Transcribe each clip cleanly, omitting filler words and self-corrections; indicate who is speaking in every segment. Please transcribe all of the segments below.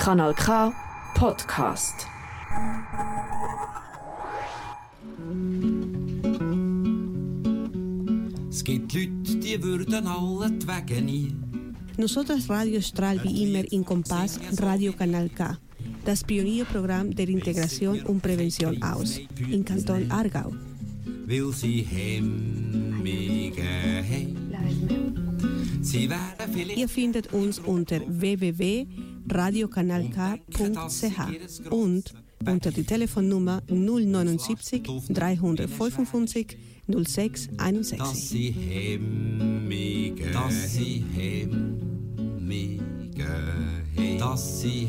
Speaker 1: Kanal K Podcast.
Speaker 2: Es gibt Leute, die würden alle die Wege nie.
Speaker 3: Nosotras Radio strahlt wie immer in Kompass Radio Kanal K, das Pionierprogramm der Integration und Prävention aus, in Kanton Aargau.
Speaker 2: Weil sie Hemmige haben. Sie werden vielleicht
Speaker 3: Ihr findet uns unter www.radiokanalk.ch und unter die Telefonnummer 079 355 06
Speaker 2: dass
Speaker 3: 61.
Speaker 2: sie Hemmige haben. Dass sie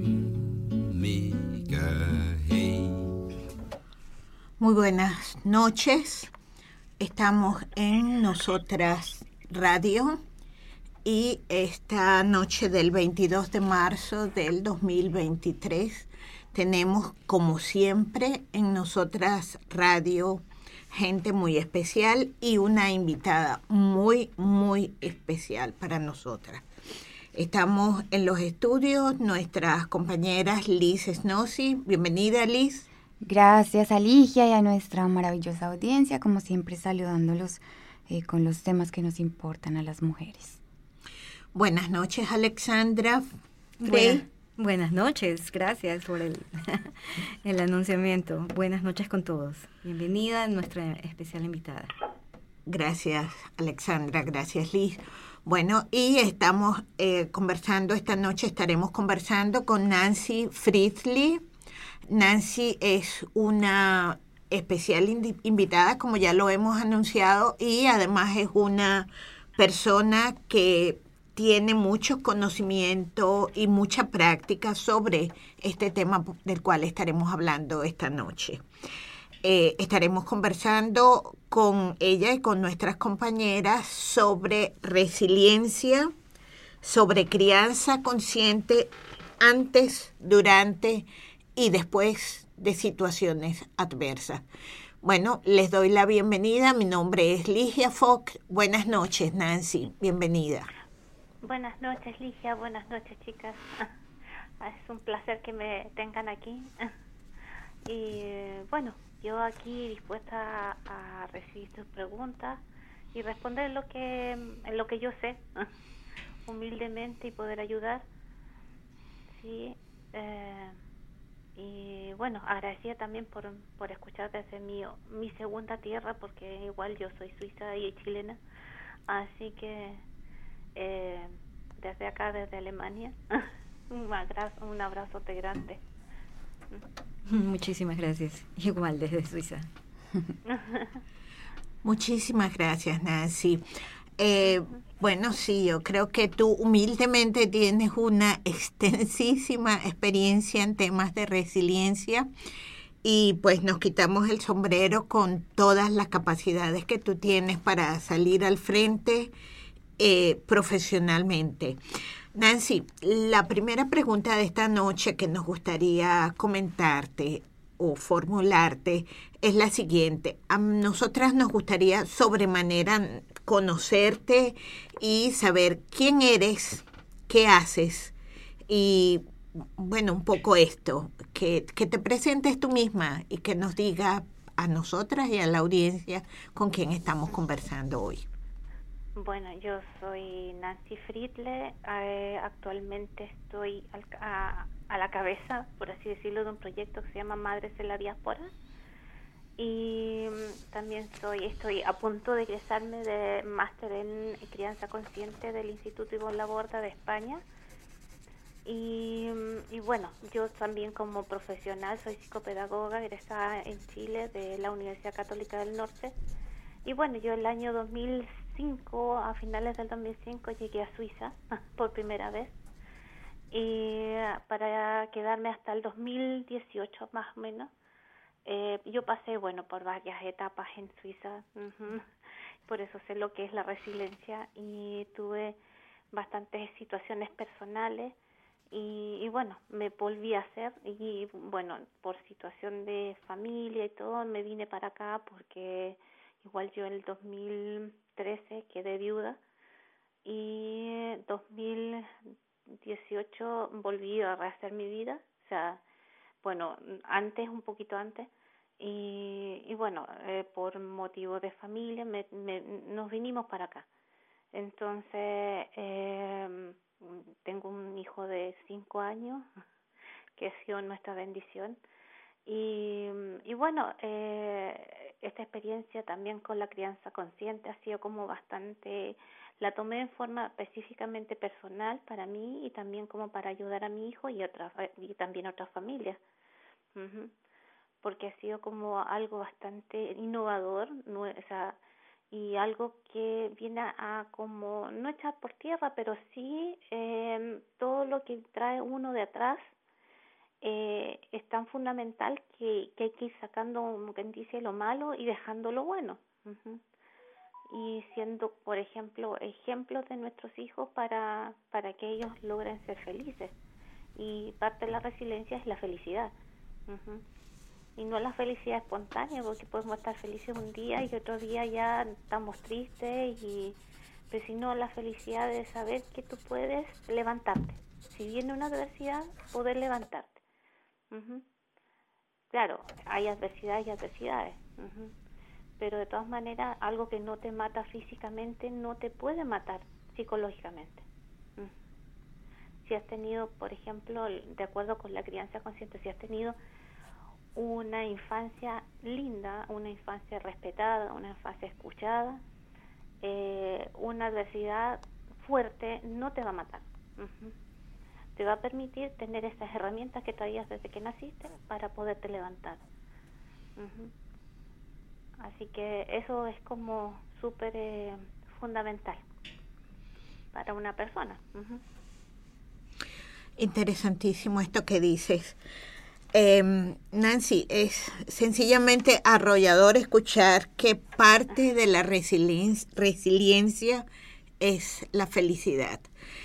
Speaker 2: Hemmige haben.
Speaker 4: Muy buenas noches. Estamos en Nosotras Radio y esta noche del 22 de marzo del 2023 tenemos, como siempre, en Nosotras Radio gente muy especial y una invitada muy, muy especial para nosotras. Estamos en los estudios nuestras compañeras Liz Snossi. Bienvenida, Liz.
Speaker 5: Gracias a Ligia y a nuestra maravillosa audiencia, como siempre saludándolos con los temas que nos importan a las mujeres.
Speaker 4: Buenas noches, Alexandra.
Speaker 6: Buenas noches, gracias por el anunciamiento. Buenas noches con todos. Bienvenida a nuestra especial invitada.
Speaker 4: Gracias, Alexandra. Gracias, Liz. Bueno, y estamos conversando, esta noche estaremos conversando con Nancy Friedli. Nancy es una especial invitada, como ya lo hemos anunciado, y además es una persona que tiene mucho conocimiento y mucha práctica sobre este tema del cual estaremos hablando esta noche. Estaremos conversando con ella y con nuestras compañeras sobre resiliencia, sobre crianza consciente antes, durante y después de situaciones adversas. Bueno, les doy la bienvenida. Mi nombre es Ligia Fox. Buenas noches, Nancy. Bienvenida.
Speaker 7: Buenas noches, Ligia. Buenas noches, chicas. Es un placer que me tengan aquí. Y bueno, yo aquí dispuesta a recibir sus preguntas y responder en lo que yo sé, humildemente, y poder ayudar. Sí. Y bueno, agradecida también por escuchar desde mi segunda tierra, porque igual yo soy suiza y chilena, así que desde acá, desde Alemania, un abrazote grande.
Speaker 6: Muchísimas gracias. Igual desde Suiza.
Speaker 4: Muchísimas gracias, Nancy. Bueno, sí, yo creo que tú humildemente tienes una extensísima experiencia en temas de resiliencia y pues nos quitamos el sombrero con todas las capacidades que tú tienes para salir al frente profesionalmente. Nancy, la primera pregunta de esta noche que nos gustaría comentarte o formularte es la siguiente. A nosotras nos gustaría sobremanera conocerte y saber quién eres, qué haces y, bueno, un poco esto, que te presentes tú misma y que nos diga a nosotras y a la audiencia con quién estamos conversando hoy.
Speaker 7: Bueno, yo soy Nancy Friedle. Actualmente estoy a la cabeza, por así decirlo, de un proyecto que se llama Madres en la Diáspora. Y también estoy a punto de egresarme de máster en crianza consciente del Instituto Ivonne Laborda de España. Y bueno, yo también como profesional soy psicopedagoga egresada en Chile de la Universidad Católica del Norte. Y bueno, yo el año 2005, a finales del 2005, llegué a Suiza por primera vez. Y para quedarme hasta el 2018 más o menos. Yo pasé, por varias etapas en Suiza, por eso sé lo que es la resiliencia y tuve bastantes situaciones personales y bueno, me volví a hacer y bueno, por situación de familia y todo, me vine para acá porque igual yo en el 2013 quedé viuda y 2000 18 volví a rehacer mi vida, o sea, bueno, antes, un poquito antes, y bueno, por motivo de familia nos vinimos para acá. Entonces, tengo un hijo de 5 años, que ha sido nuestra bendición, y bueno, esta experiencia también con la crianza consciente ha sido como bastante, la tomé en forma específicamente personal para mí y también como para ayudar a mi hijo y también a otras familias. Porque ha sido como algo bastante innovador, o sea, y algo que viene a como, no echar por tierra, pero sí todo lo que trae uno de atrás es tan fundamental que hay que ir sacando, como quien dice, lo malo y dejando lo bueno. Y siendo, por ejemplo, ejemplos de nuestros hijos para que ellos logren ser felices. Y parte de la resiliencia es la felicidad. Y no la felicidad espontánea, porque podemos estar felices un día y otro día ya estamos tristes, pero sino la felicidad de saber que tú puedes levantarte. Si viene una adversidad, poder levantarte. Claro, hay adversidades y adversidades, pero de todas maneras algo que no te mata físicamente no te puede matar psicológicamente. Si has tenido, por ejemplo, de acuerdo con la crianza consciente, si has tenido una infancia linda, una infancia respetada, una infancia escuchada, una adversidad fuerte no te va a matar. Te va a permitir tener esas herramientas que traías desde que naciste para poderte levantar. Así que eso es como súper fundamental para una persona.
Speaker 4: Interesantísimo esto que dices. Nancy, es sencillamente arrollador escuchar que parte de la resiliencia es la felicidad.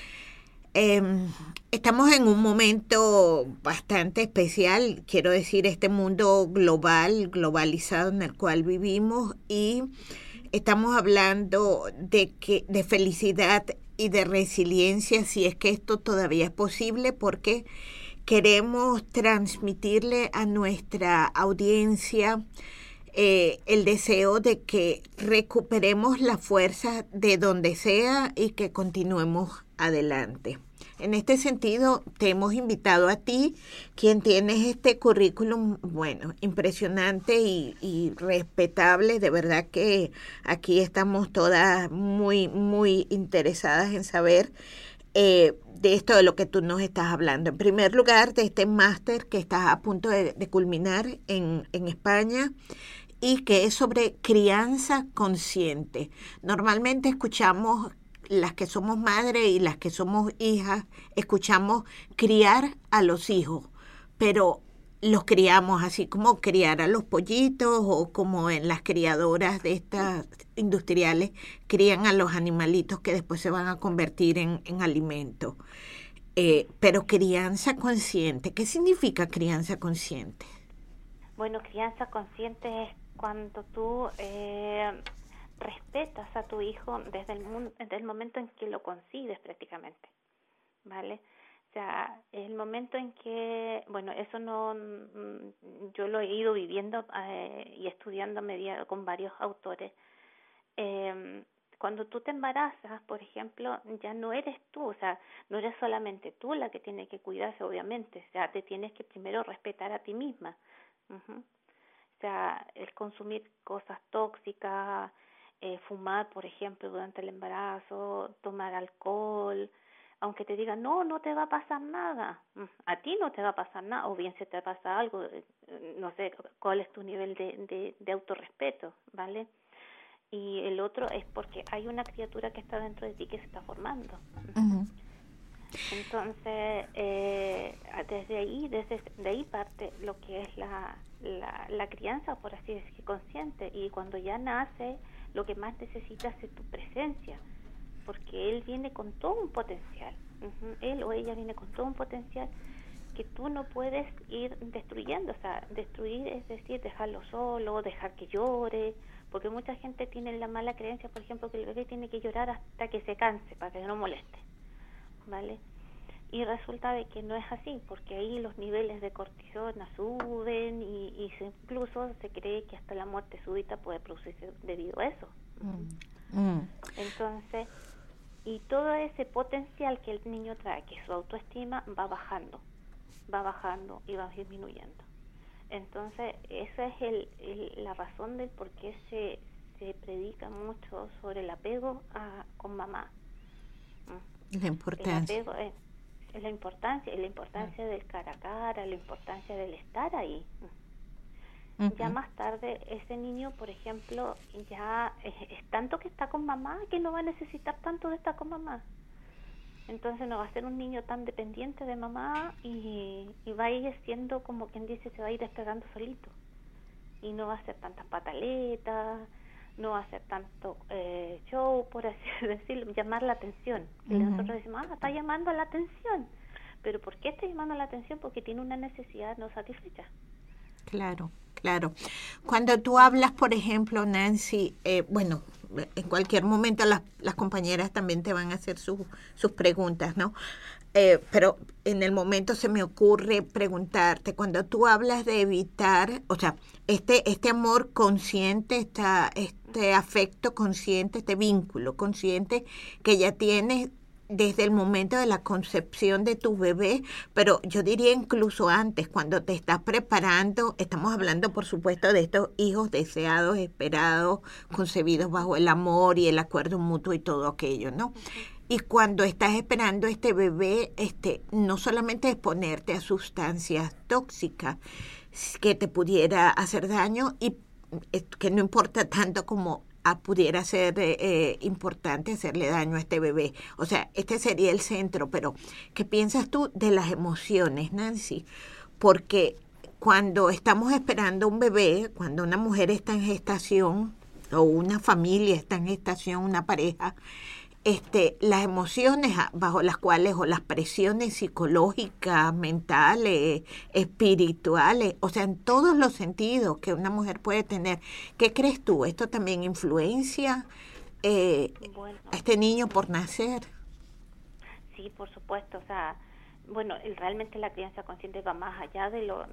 Speaker 4: Estamos en un momento bastante especial, quiero decir, este mundo globalizado en el cual vivimos, y estamos hablando de felicidad y de resiliencia, si es que esto todavía es posible, porque queremos transmitirle a nuestra audiencia el deseo de que recuperemos la fuerza de donde sea y que continuemos adelante. En este sentido, te hemos invitado a ti, quien tienes este currículum, bueno, impresionante y respetable. De verdad que aquí estamos todas muy, muy interesadas en saber de esto de lo que tú nos estás hablando. En primer lugar, de este máster que estás a punto de culminar en España, y que es sobre crianza consciente. Normalmente escuchamos, las que somos madres y las que somos hijas, escuchamos criar a los hijos, pero los criamos así como criar a los pollitos, o como en las criadoras de estas industriales crían a los animalitos que después se van a convertir en alimento. Pero crianza consciente, ¿qué significa crianza consciente?
Speaker 7: Bueno, crianza consciente es cuando tú respetas a tu hijo desde el momento en que lo concibes prácticamente, ¿vale? O sea, el momento en que, bueno, eso no, yo lo he ido viviendo y estudiando con varios autores. Cuando tú te embarazas, por ejemplo, ya no eres tú, o sea, no eres solamente tú la que tiene que cuidarse, obviamente, o sea, te tienes que primero respetar a ti misma. O sea, el consumir cosas tóxicas, fumar, por ejemplo, durante el embarazo, tomar alcohol, aunque te digan, no te va a pasar nada, a ti no te va a pasar nada, o bien se te pasa algo, no sé cuál es tu nivel de autorrespeto, ¿vale? Y el otro es porque hay una criatura que está dentro de ti que se está formando. Entonces, desde ahí parte lo que es la crianza, por así decir, consciente. Y cuando ya nace, lo que más necesitas es tu presencia, porque él viene con todo un potencial. Él o ella viene con todo un potencial que tú no puedes ir destruyendo. O sea, destruir es decir, dejarlo solo, dejar que llore, porque mucha gente tiene la mala creencia, por ejemplo, que el bebé tiene que llorar hasta que se canse, para que no moleste, ¿vale? Y resulta de que no es así, porque ahí los niveles de cortisona suben y incluso se cree que hasta la muerte súbita puede producirse debido a eso. Entonces, y todo ese potencial que el niño trae, que su autoestima va bajando y va disminuyendo. Entonces, esa es la razón del por qué se predica mucho sobre el apego con mamá.
Speaker 4: La importancia.
Speaker 7: El apego es la importancia del cara a cara, la importancia del estar ahí. Ya más tarde ese niño, por ejemplo, ya es tanto que está con mamá que no va a necesitar tanto de estar con mamá. Entonces no va a ser un niño tan dependiente de mamá y va a ir siendo, como quien dice, se va a ir despegando solito. Y no va a hacer tantas pataletas, no va a hacer tanto show, por así decirlo, llamar la atención. Y nosotros decimos, está llamando la atención. ¿Pero por qué está llamando la atención? Porque tiene una necesidad no satisfecha.
Speaker 4: Claro. Cuando tú hablas, por ejemplo, Nancy, bueno, en cualquier momento las compañeras también te van a hacer sus preguntas, ¿no? Pero en el momento se me ocurre preguntarte, cuando tú hablas de evitar, o sea, este amor consciente, este afecto consciente, este vínculo consciente que ya tienes desde el momento de la concepción de tu bebé, pero yo diría incluso antes, cuando te estás preparando, estamos hablando por supuesto de estos hijos deseados, esperados, concebidos bajo el amor y el acuerdo mutuo y todo aquello, ¿no? Y cuando estás esperando este bebé, no solamente exponerte a sustancias tóxicas que te pudiera hacer daño y que no importa tanto como pudiera ser importante hacerle daño a este bebé. O sea, este sería el centro, pero ¿qué piensas tú de las emociones, Nancy? Porque cuando estamos esperando un bebé, cuando una mujer está en gestación o una familia está en gestación, una pareja, las emociones bajo las cuales o las presiones psicológicas, mentales, espirituales, o sea, en todos los sentidos que una mujer puede tener. ¿Qué crees tú? ¿Esto también influencia a este niño por nacer?
Speaker 7: Sí, por supuesto. O sea, bueno, realmente la crianza consciente va más allá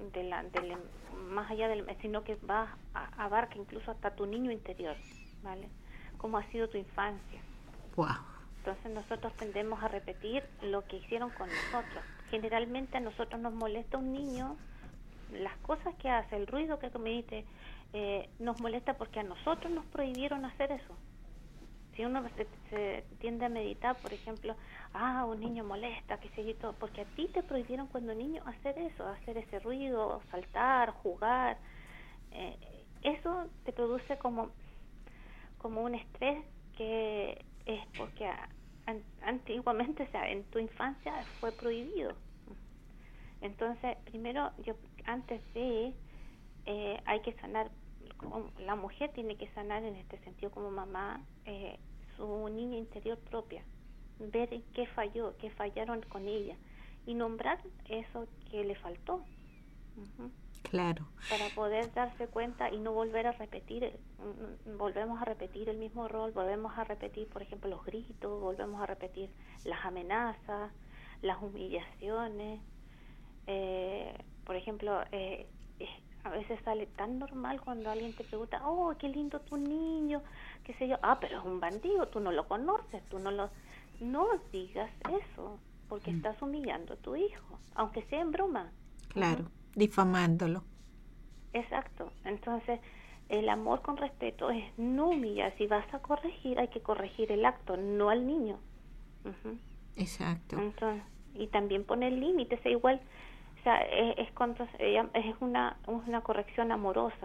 Speaker 7: sino que abarca incluso hasta tu niño interior, ¿vale? ¿Cómo ha sido tu infancia?
Speaker 4: Wow.
Speaker 7: Entonces nosotros tendemos a repetir lo que hicieron con nosotros. Generalmente a nosotros nos molesta un niño, las cosas que hace, el ruido que comete, nos molesta porque a nosotros nos prohibieron hacer eso. Si uno se tiende a meditar, por ejemplo, un niño molesta, qué sé yo, todo, porque a ti te prohibieron cuando niño hacer eso, hacer ese ruido, saltar, jugar. Eso te produce como un estrés que es porque antiguamente, o sea, en tu infancia fue prohibido. Entonces, primero, antes de hay que sanar, la mujer tiene que sanar en este sentido como mamá, su niña interior propia, ver en qué falló, qué fallaron con ella y nombrar eso que le faltó.
Speaker 4: Claro.
Speaker 7: Para poder darse cuenta y no volver a repetir, volvemos a repetir el mismo rol, volvemos a repetir, por ejemplo, los gritos, volvemos a repetir las amenazas, las humillaciones. Por ejemplo, a veces sale tan normal cuando alguien te pregunta, qué lindo tu niño, qué sé yo, pero es un bandido, tú no lo conoces, no digas eso, porque estás humillando a tu hijo, aunque sea en broma.
Speaker 4: Claro. Difamándolo.
Speaker 7: Exacto. Entonces, el amor con respeto es no humillar. Si vas a corregir, hay que corregir el acto, no al niño.
Speaker 4: Exacto.
Speaker 7: Entonces, y también poner límites, igual, o sea, es una corrección amorosa.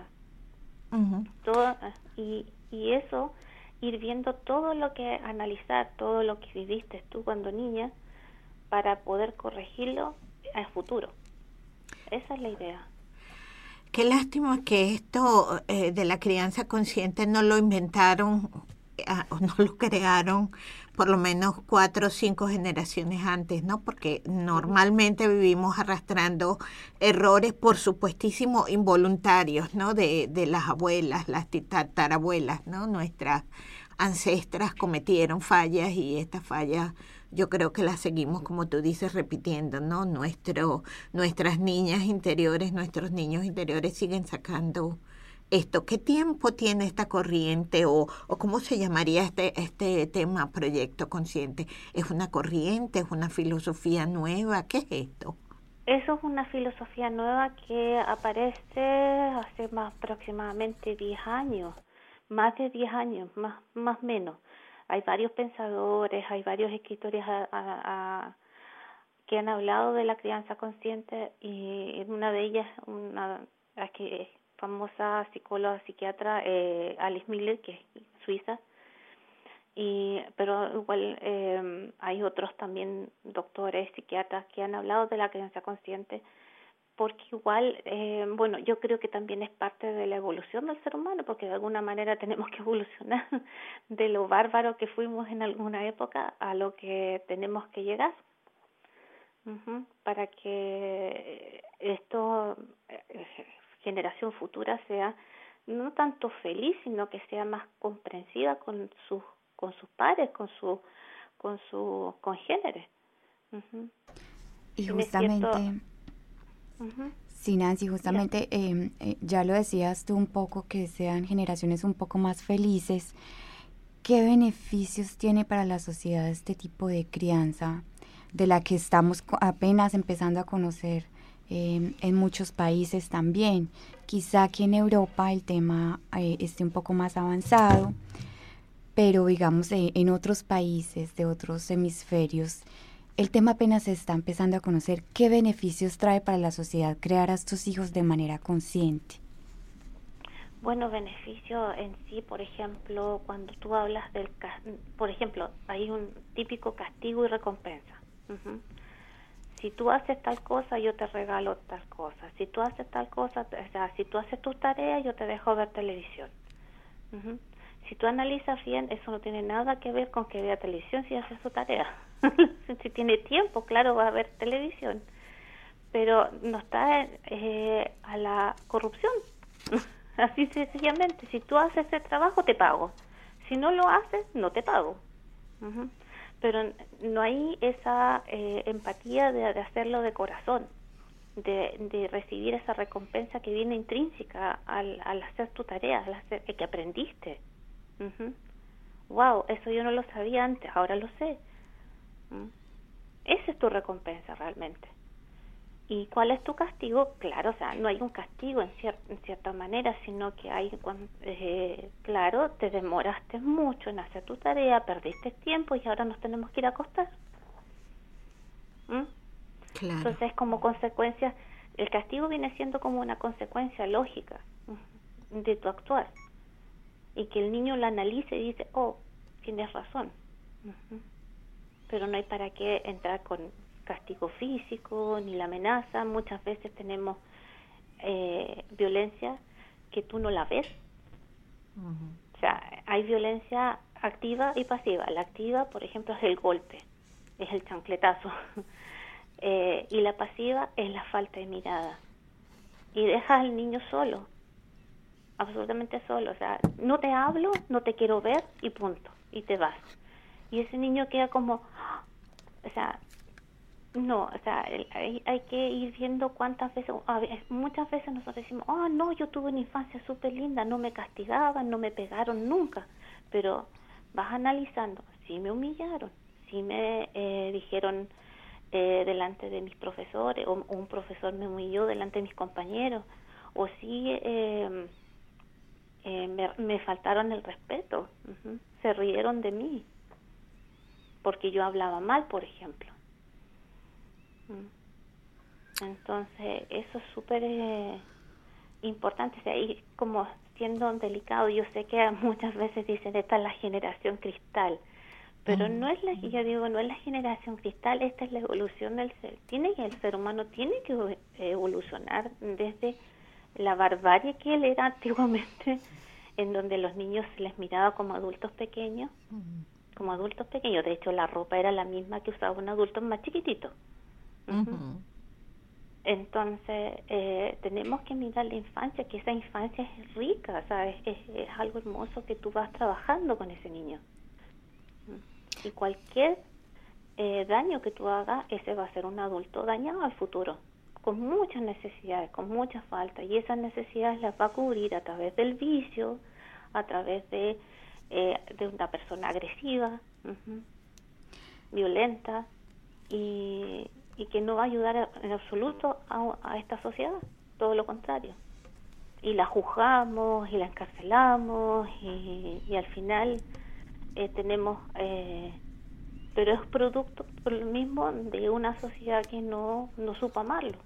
Speaker 7: Todo, y eso, ir viendo todo lo que, analizar todo lo que viviste tú cuando niña, para poder corregirlo al futuro. Esa es la idea.
Speaker 4: Qué lástima que esto de la crianza consciente no lo inventaron o no lo crearon por lo menos 4 o 5 generaciones antes, ¿no? Porque normalmente vivimos arrastrando errores, por supuestísimo, involuntarios, ¿no? De las abuelas, las tatarabuelas, ¿no? Nuestras ancestras cometieron fallas y estas fallas yo creo que las seguimos, como tú dices, repitiendo, ¿no? Nuestras niñas interiores, nuestros niños interiores siguen sacando esto. ¿Qué tiempo tiene esta corriente o cómo se llamaría este tema, proyecto consciente? ¿Es una corriente, es una filosofía nueva? ¿Qué es esto?
Speaker 7: Eso es una filosofía nueva que aparece hace aproximadamente 10 años, más de 10 años, más o menos. Hay varios pensadores, hay varios escritores que han hablado de la crianza consciente, y una de ellas, la que es famosa psicóloga, psiquiatra, Alice Miller, que es suiza, pero igual hay otros también doctores, psiquiatras que han hablado de la crianza consciente, porque igual, yo creo que también es parte de la evolución del ser humano, porque de alguna manera tenemos que evolucionar de lo bárbaro que fuimos en alguna época a lo que tenemos que llegar, para que esto, generación futura, sea no tanto feliz, sino que sea más comprensiva con sus pares, con sus congéneres.
Speaker 5: Y justamente, sí, Nancy, justamente ya lo decías tú un poco, que sean generaciones un poco más felices. ¿Qué beneficios tiene para la sociedad este tipo de crianza, de la que estamos apenas empezando a conocer en muchos países también? Quizá aquí en Europa el tema esté un poco más avanzado, pero digamos en otros países de otros hemisferios el tema apenas se está empezando a conocer. ¿Qué beneficios trae para la sociedad crear a estos hijos de manera consciente?
Speaker 7: Bueno, beneficio en sí, por ejemplo, cuando tú hablas por ejemplo, hay un típico castigo y recompensa. Si tú haces tal cosa, yo te regalo tal cosa. Si tú haces tal cosa, o sea, si tú haces tus tareas, yo te dejo ver televisión. Si tú analizas bien, eso no tiene nada que ver con que vea televisión si hace su tarea. Si tiene tiempo, claro, va a ver televisión. Pero no está a la corrupción. Así sencillamente, si tú haces ese trabajo, te pago. Si no lo haces, no te pago. Pero no hay esa empatía de hacerlo de corazón, de recibir esa recompensa que viene intrínseca al hacer tu tarea, al hacer que aprendiste. Wow, eso yo no lo sabía antes, ahora lo sé. Esa es tu recompensa realmente. ¿Y cuál es tu castigo? Claro, o sea, no hay un castigo en cierta manera, sino que hay, claro, te demoraste mucho en hacer tu tarea, perdiste tiempo y ahora nos tenemos que ir a acostar.
Speaker 4: Claro.
Speaker 7: Entonces, como consecuencia, el castigo viene siendo como una consecuencia lógica de tu actuar. Y que el niño lo analice y dice, oh, tienes razón. Pero no hay para qué entrar con castigo físico ni la amenaza. Muchas veces tenemos violencia que tú no la ves. O sea, hay violencia activa y pasiva. La activa, por ejemplo, es el golpe, es el chancletazo. Y la pasiva es la falta de mirada. Y dejas al niño solo, absolutamente solo. O sea, no te hablo, no te quiero ver y punto. Y te vas. Y ese niño queda como, o sea, no, o sea, hay que ir viendo cuántas veces, muchas veces nosotros decimos, oh no, yo tuve una infancia súper linda, no me castigaban, no me pegaron nunca, pero vas analizando, sí me humillaron, sí me dijeron delante de mis profesores, o un profesor me humilló delante de mis compañeros, o sí me faltaron el respeto, se rieron de mí, porque yo hablaba mal, por ejemplo. Entonces, eso es súper importante, o sea, y como siendo delicado, yo sé que muchas veces dicen, esta es la generación cristal, pero no es yo digo, no es la generación cristal, esta es la evolución del ser. El ser humano tiene que evolucionar desde la barbarie que él era antiguamente, en donde los niños se les miraba como adultos pequeños, de hecho la ropa era la misma que usaba un adulto más chiquitito. Entonces tenemos que mirar la infancia, que esa infancia es rica, o sea, es algo hermoso que tú vas trabajando con ese niño. Y cualquier daño que tú hagas, ese va a ser un adulto dañado al futuro, con muchas necesidades, con muchas faltas, y esas necesidades las va a cubrir a través del vicio, a través de una persona agresiva, violenta, y que no va a ayudar en absoluto a esta sociedad, todo lo contrario. Y la juzgamos y la encarcelamos y al final tenemos... pero es producto por lo mismo de una sociedad que no supo amarlo,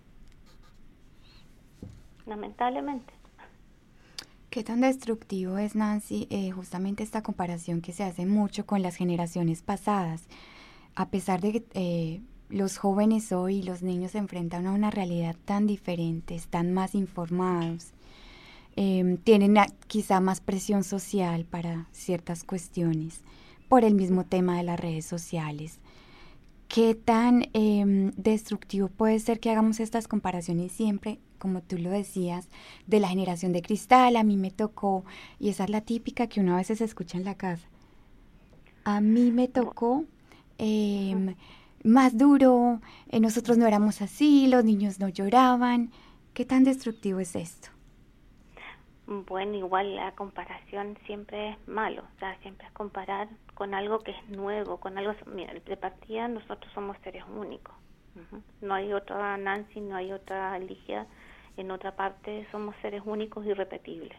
Speaker 7: lamentablemente.
Speaker 5: ¿Qué tan destructivo es, Nancy, justamente esta comparación que se hace mucho con las generaciones pasadas? A pesar de que los jóvenes hoy, los niños se enfrentan a una realidad tan diferente, están más informados, tienen quizá más presión social para ciertas cuestiones por el mismo tema de las redes sociales. ¿Qué tan destructivo puede ser que hagamos estas comparaciones siempre, como tú lo decías, de la generación de cristal? A mí me tocó, y esa es la típica que uno a veces escucha en la casa, a mí me tocó más duro, nosotros no éramos así, los niños no lloraban. ¿Qué tan destructivo es esto?
Speaker 7: Bueno, igual la comparación siempre es malo, o sea, siempre es comparar con algo que es nuevo, con algo... Mira, de partida nosotros somos seres únicos, no hay otra Nancy, no hay otra Ligia, en otra parte somos seres únicos y irrepetibles.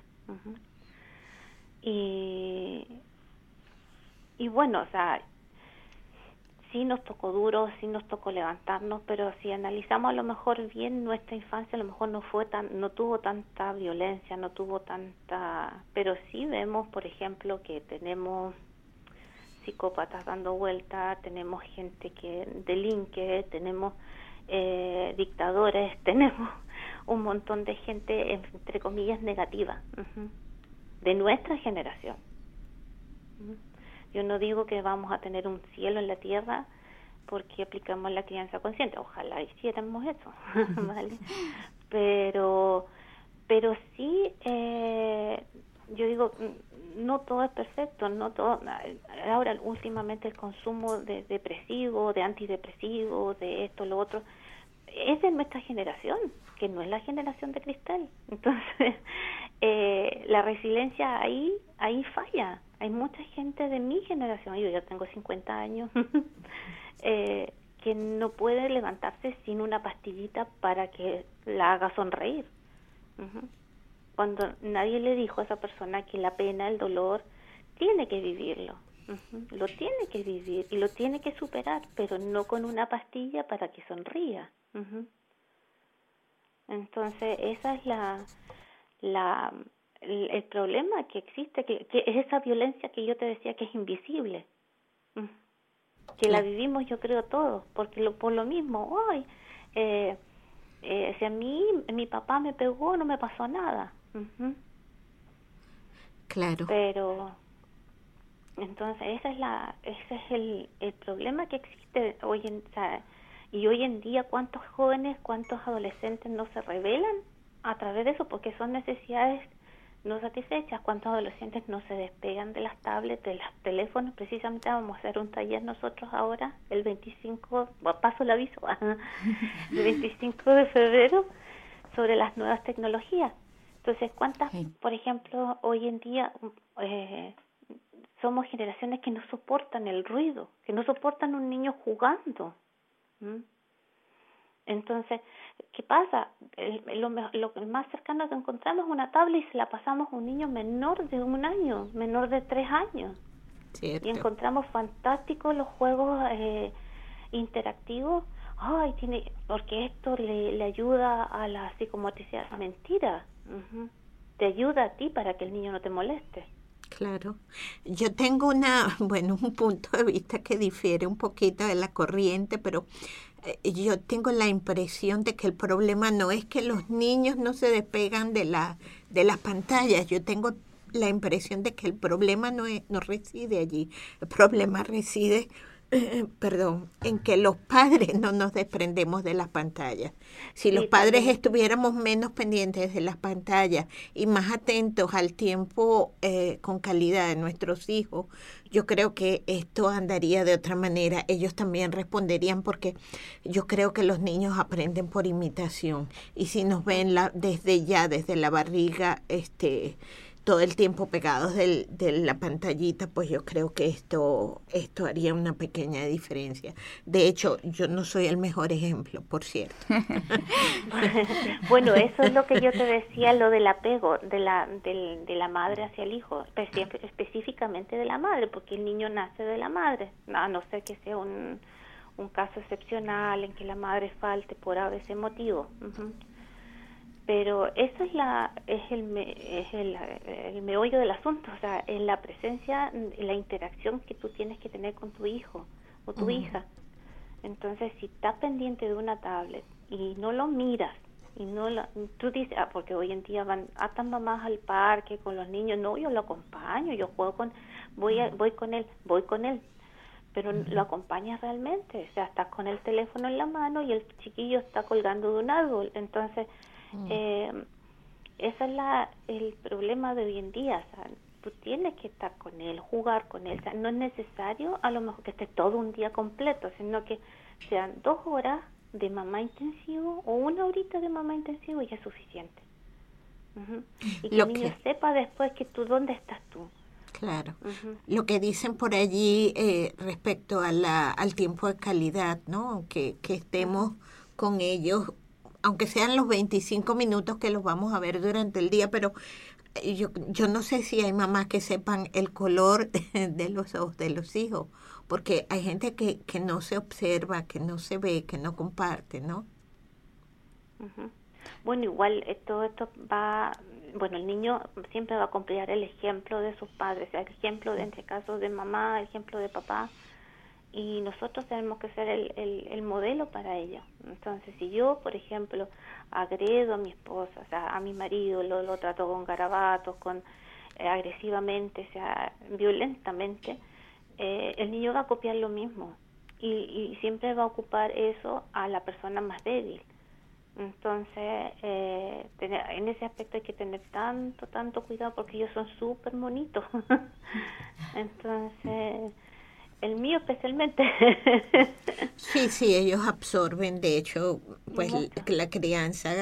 Speaker 7: Y bueno, o sea, sí nos tocó duro, sí nos tocó levantarnos, pero si analizamos a lo mejor bien nuestra infancia, a lo mejor no tuvo tanta violencia, no tuvo tanta... Pero sí vemos, por ejemplo, que tenemos psicópatas dando vuelta, tenemos gente que delinque, tenemos dictadores, tenemos un montón de gente, entre comillas, negativa, de nuestra generación. Yo no digo que vamos a tener un cielo en la tierra porque aplicamos la crianza consciente. Ojalá hiciéramos eso, ¿vale? Pero sí, yo digo, no todo es perfecto, no todo. Ahora, últimamente el consumo de depresivos, de antidepresivos, de esto, lo otro, es de nuestra generación, que no es la generación de cristal. Entonces, la resiliencia ahí falla. Hay mucha gente de mi generación, yo ya tengo 50 años, que no puede levantarse sin una pastillita para que la haga sonreír. Cuando nadie le dijo a esa persona que la pena, el dolor, tiene que vivirlo. Lo tiene que vivir y lo tiene que superar, pero no con una pastilla para que sonría. Entonces, esa es el problema que existe, que es esa violencia que yo te decía que es invisible, que la vivimos, yo creo, todos, porque por lo mismo, hoy, si a mí mi papá me pegó, no me pasó nada.
Speaker 4: Claro.
Speaker 7: Pero entonces ese es el problema que existe hoy en día. ¿Cuántos jóvenes, cuántos adolescentes no se rebelan a través de eso? Porque son necesidades no satisfechas. ¿Cuántos adolescentes no se despegan de las tablets, de los teléfonos? Precisamente vamos a hacer un taller nosotros ahora, el 25, paso el aviso, el 25 de febrero, sobre las nuevas tecnologías. Entonces, ¿cuántas, por ejemplo, hoy en día somos generaciones que no soportan el ruido, que no soportan un niño jugando? Entonces, ¿qué pasa? Lo más cercano que encontramos es una tablet y se la pasamos a un niño menor de 1 año, menor de 3 años.
Speaker 4: Cierto.
Speaker 7: Y encontramos fantásticos los juegos interactivos. Porque esto le ayuda a la psicomotricidad. Mentira. Te ayuda a ti para que el niño no te moleste.
Speaker 4: Claro. Yo tengo un punto de vista que difiere un poquito de la corriente, pero yo tengo la impresión de que el problema no es que los niños no se despegan de las pantallas. Yo tengo la impresión de que el problema no reside allí. El problema reside en que los padres no nos desprendemos de las pantallas. Si los padres estuviéramos menos pendientes de las pantallas y más atentos al tiempo con calidad de nuestros hijos, yo creo que esto andaría de otra manera. Ellos también responderían, porque yo creo que los niños aprenden por imitación, y si nos ven desde la barriga, todo el tiempo pegados de la pantallita, pues yo creo que esto haría una pequeña diferencia. De hecho, yo no soy el mejor ejemplo, por cierto.
Speaker 7: Bueno, eso es lo que yo te decía, lo del apego de la madre hacia el hijo, específicamente de la madre, porque el niño nace de la madre, a no ser que sea un caso excepcional en que la madre falte por ese motivo. Uh-huh. Pero eso es el meollo del asunto, o sea, es la presencia, la interacción que tú tienes que tener con tu hijo o tu hija. Entonces, si estás pendiente de una tablet y no lo miras, y tú dices, porque hoy en día van tan mamás al parque con los niños, no, yo lo acompaño, yo juego voy con él, pero lo acompañas realmente, o sea, estás con el teléfono en la mano y el chiquillo está colgando de un árbol. Entonces, ese es el problema de hoy en día, o sea, tú tienes que estar con él, jugar con él, o sea, no es necesario a lo mejor que esté todo un día completo, sino que sean 2 horas de mamá intensivo o 1 horita de mamá intensivo y ya es suficiente. Uh-huh. Y que el niño sepa después que dónde estás tú.
Speaker 4: Claro. Uh-huh. Lo que dicen por allí respecto al tiempo de calidad, ¿no? Que estemos con ellos, aunque sean los 25 minutos que los vamos a ver durante el día, pero yo no sé si hay mamás que sepan el color de los ojos de los hijos, porque hay gente que no se observa, que no se ve, que no comparte, ¿no?
Speaker 7: Uh-huh. Bueno, igual todo esto el niño siempre va a copiar el ejemplo de sus padres, el ejemplo de, entre casos de mamá, el ejemplo de papá, y nosotros tenemos que ser el modelo para ellos. Entonces, si yo, por ejemplo, agredo a mi esposa, o sea, a mi marido, lo trato con garabatos, agresivamente, o sea, violentamente, el niño va a copiar lo mismo y siempre va a ocupar eso a la persona más débil. Entonces, en ese aspecto hay que tener tanto cuidado, porque ellos son súper bonitos. Entonces, el mío especialmente.
Speaker 4: Sí, ellos absorben, de hecho, pues la crianza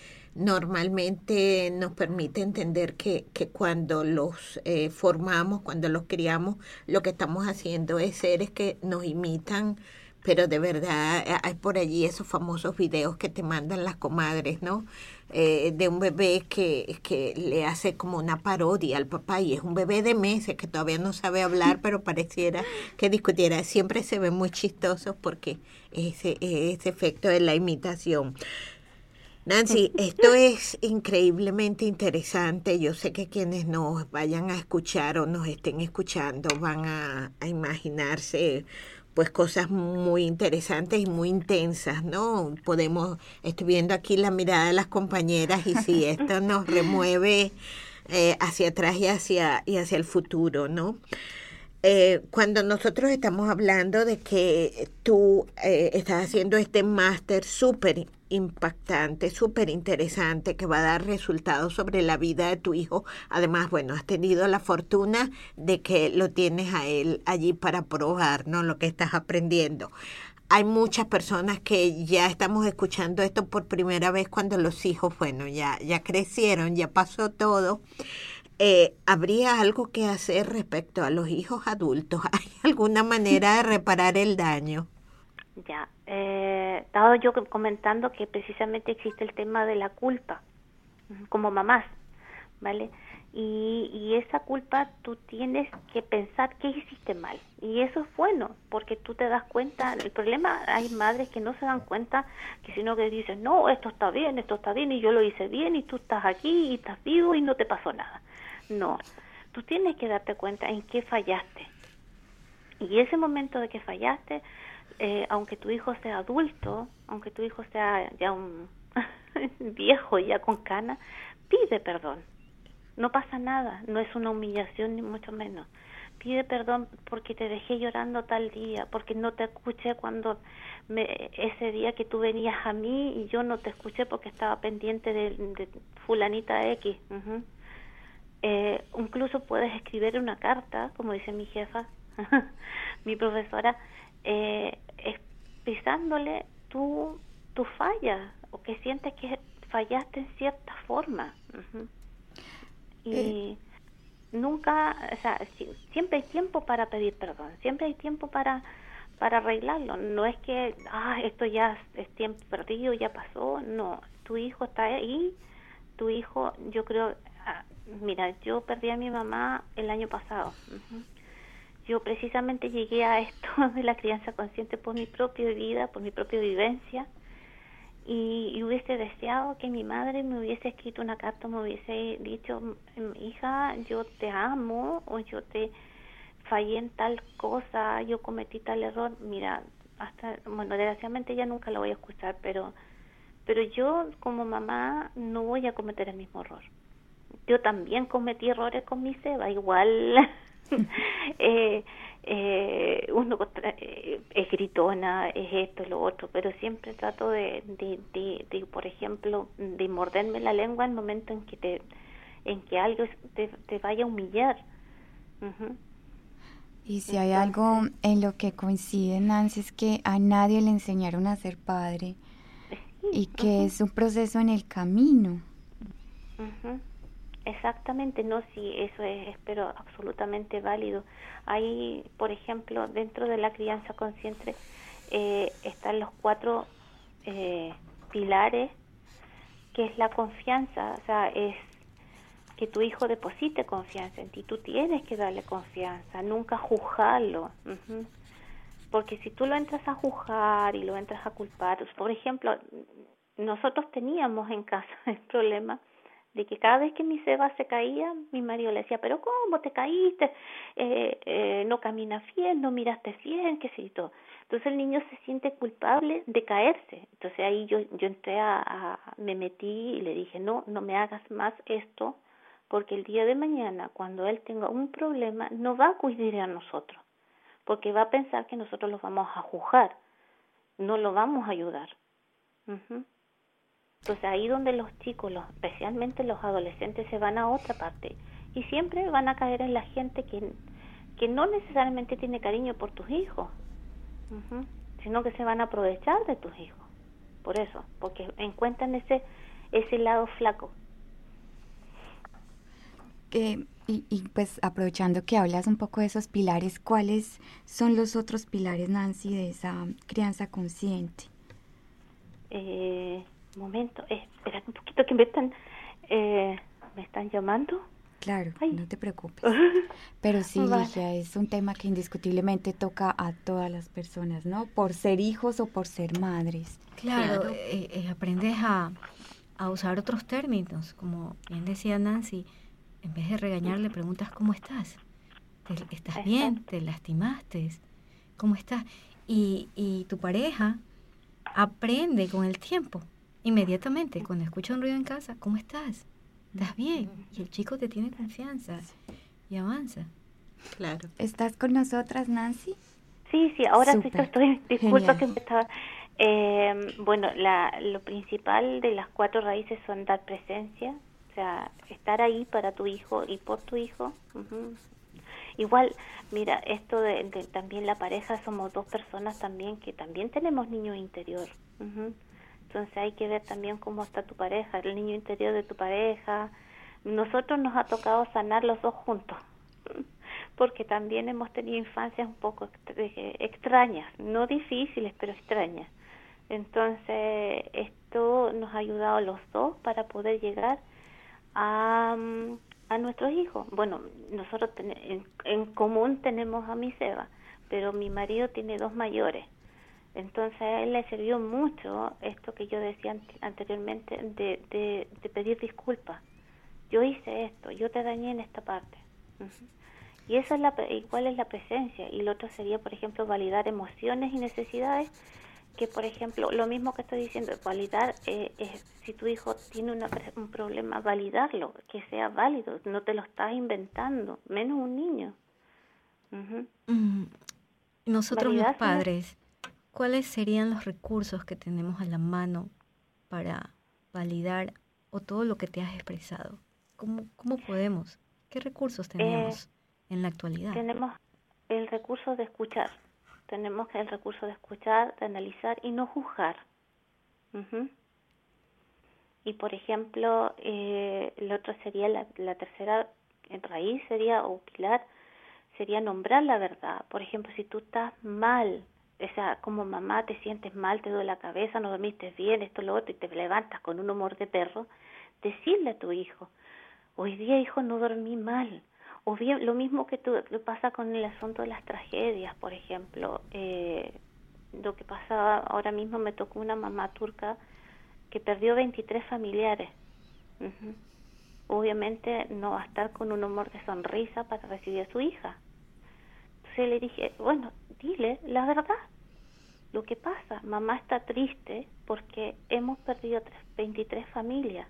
Speaker 4: normalmente nos permite entender que cuando los formamos, cuando los criamos, lo que estamos haciendo es seres que nos imitan, pero de verdad hay por allí esos famosos videos que te mandan las comadres, ¿no? De un bebé que le hace como una parodia al papá, y es un bebé de meses que todavía no sabe hablar, pero pareciera que discutiera. Siempre se ven muy chistosos porque ese efecto de la imitación. Nancy, esto es increíblemente interesante. Yo sé que quienes nos vayan a escuchar o nos estén escuchando van a imaginarse pues cosas muy interesantes y muy intensas, ¿no? Estoy viendo aquí la mirada de las compañeras, y sí, esto nos remueve hacia atrás y hacia el futuro, ¿no? Cuando nosotros estamos hablando de que tú estás haciendo este máster súper impactante, súper interesante, que va a dar resultados sobre la vida de tu hijo. Además, bueno, has tenido la fortuna de que lo tienes a él allí para probar, ¿no? Lo que estás aprendiendo. Hay muchas personas que ya estamos escuchando esto por primera vez cuando los hijos, bueno, ya crecieron, ya pasó todo. ¿Habría algo que hacer respecto a los hijos adultos? ¿Hay alguna manera de reparar el daño?
Speaker 7: Ya, estaba yo comentando que precisamente existe el tema de la culpa como mamás, ¿vale? Y esa culpa tú tienes que pensar qué hiciste mal, y eso es bueno, porque tú te das cuenta. El problema, hay madres que no se dan cuenta, que sino que dicen, no, esto está bien, y yo lo hice bien, y tú estás aquí, y estás vivo, y no te pasó nada. No, tú tienes que darte cuenta en qué fallaste, y ese momento de que fallaste, aunque tu hijo sea adulto, aunque tu hijo sea ya un viejo, ya con cana, pide perdón. No pasa nada, no es una humillación ni mucho menos. pide perdón porque te dejé llorando tal día, porque no te escuché cuando ese día que tú venías a mí y yo no te escuché porque estaba pendiente de fulanita X. Incluso puedes escribir una carta, como dice mi jefa, mi profesora, expresándole tu falla, o que sientes que fallaste en cierta forma. Y nunca, o sea, siempre hay tiempo para pedir perdón, siempre hay tiempo para arreglarlo. No es que esto ya es tiempo perdido, ya pasó. No, tu hijo está ahí. Tu hijo, yo creo, mira, yo perdí a mi mamá el año pasado. Yo precisamente llegué a esto de la crianza consciente por mi propia vida, por mi propia vivencia, y hubiese deseado que mi madre me hubiese escrito una carta, me hubiese dicho, hija, yo te amo, o yo te fallé en tal cosa, yo cometí tal error. Mira, desgraciadamente ya nunca lo voy a escuchar, pero yo como mamá no voy a cometer el mismo error. Yo también cometí errores con mi Seba, igual uno es gritona, es esto, lo otro, pero siempre trato de por ejemplo, de morderme la lengua en el momento en que algo te vaya a humillar.
Speaker 5: Y si hay algo en lo que coincide, Nancy, es que a nadie le enseñaron a ser padre, y que es un proceso en el camino.
Speaker 7: Exactamente, no, sí, eso es, pero absolutamente válido. Hay, por ejemplo, dentro de la crianza consciente están los 4 pilares, que es la confianza, o sea, es que tu hijo deposite confianza en ti. Tú tienes que darle confianza, nunca juzgarlo. Porque si tú lo entras a juzgar y lo entras a culpar, por ejemplo, nosotros teníamos en casa el problema de que cada vez que mi Seba se caía, mi marido le decía, pero ¿cómo te caíste? No caminas bien, no miraste bien, qué sé yo. Entonces el niño se siente culpable de caerse. Entonces ahí yo entré me metí y le dije, no me hagas más esto, porque el día de mañana, cuando él tenga un problema, no va a acudir a nosotros, porque va a pensar que nosotros los vamos a juzgar, no lo vamos a ayudar. Entonces ahí donde los chicos, especialmente los adolescentes, se van a otra parte y siempre van a caer en la gente que no necesariamente tiene cariño por tus hijos, sino que se van a aprovechar de tus hijos, por eso, porque encuentran ese lado flaco.
Speaker 5: Y pues aprovechando que hablas un poco de esos pilares, ¿cuáles son los otros pilares, Nancy, de esa crianza consciente?
Speaker 7: Momento, espera un poquito que me están llamando.
Speaker 5: Claro, no te preocupes. Pero sí, vale. Ligia, es un tema que indiscutiblemente toca a todas las personas, ¿no? Por ser hijos o por ser madres.
Speaker 6: Claro, aprendes a usar otros términos, como bien decía Nancy. En vez de regañar, le preguntas ¿cómo estás? ¿Estás bien? ¿Te lastimaste? ¿Cómo estás? Y tu pareja aprende con el tiempo, inmediatamente, cuando escucha un ruido en casa, ¿cómo estás? ¿Estás bien? Y el chico te tiene confianza y avanza.
Speaker 4: Claro.
Speaker 5: ¿Estás con nosotras, Nancy?
Speaker 7: Sí, ahora
Speaker 5: Super.
Speaker 7: Sí que estoy, disculpa. Genial. Que me estaba... bueno, lo principal de las 4 raíces son dar presencia, o sea, estar ahí para tu hijo y por tu hijo. Igual, mira, esto de también la pareja, somos 2 personas también que también tenemos niño interior. Entonces hay que ver también cómo está tu pareja, el niño interior de tu pareja. Nosotros nos ha tocado sanar los 2 juntos, porque también hemos tenido infancias un poco extrañas, no difíciles, pero extrañas. Entonces esto nos ha ayudado a los 2 para poder llegar a nuestros hijos. Bueno, nosotros en común tenemos a mi Seba, pero mi marido tiene 2 mayores. Entonces a él le sirvió mucho esto que yo decía anteriormente de pedir disculpas. Yo hice esto, yo te dañé en esta parte. Y eso es ¿cuál es la presencia? Y lo otro sería, por ejemplo, validar emociones y necesidades, que por ejemplo, lo mismo que estoy diciendo, validar, si tu hijo tiene un problema, validarlo, que sea válido, no te lo estás inventando, menos un niño.
Speaker 6: Nosotros los
Speaker 7: Validación
Speaker 6: padres, ¿cuáles serían los recursos que tenemos a la mano para validar o todo lo que te has expresado? ¿Cómo podemos? ¿Qué recursos tenemos en la actualidad?
Speaker 7: Tenemos el recurso de escuchar. Tenemos el recurso de escuchar, de analizar y no juzgar. Y por ejemplo, el otro sería la tercera raíz, sería, o pilar, sería nombrar la verdad. Por ejemplo, si tú estás mal, o sea, como mamá te sientes mal, te duele la cabeza, no dormiste bien, esto, lo otro, y te levantas con un humor de perro, decirle a tu hijo, hoy día, hijo, no dormí mal. O bien, lo mismo que pasa con el asunto de las tragedias, por ejemplo. Lo que pasa ahora mismo, me tocó una mamá turca que perdió 23 familiares. Obviamente no va a estar con un humor de sonrisa para recibir a su hija. Entonces le dije, bueno, dile la verdad. Lo que pasa, mamá está triste porque hemos perdido 23 familias.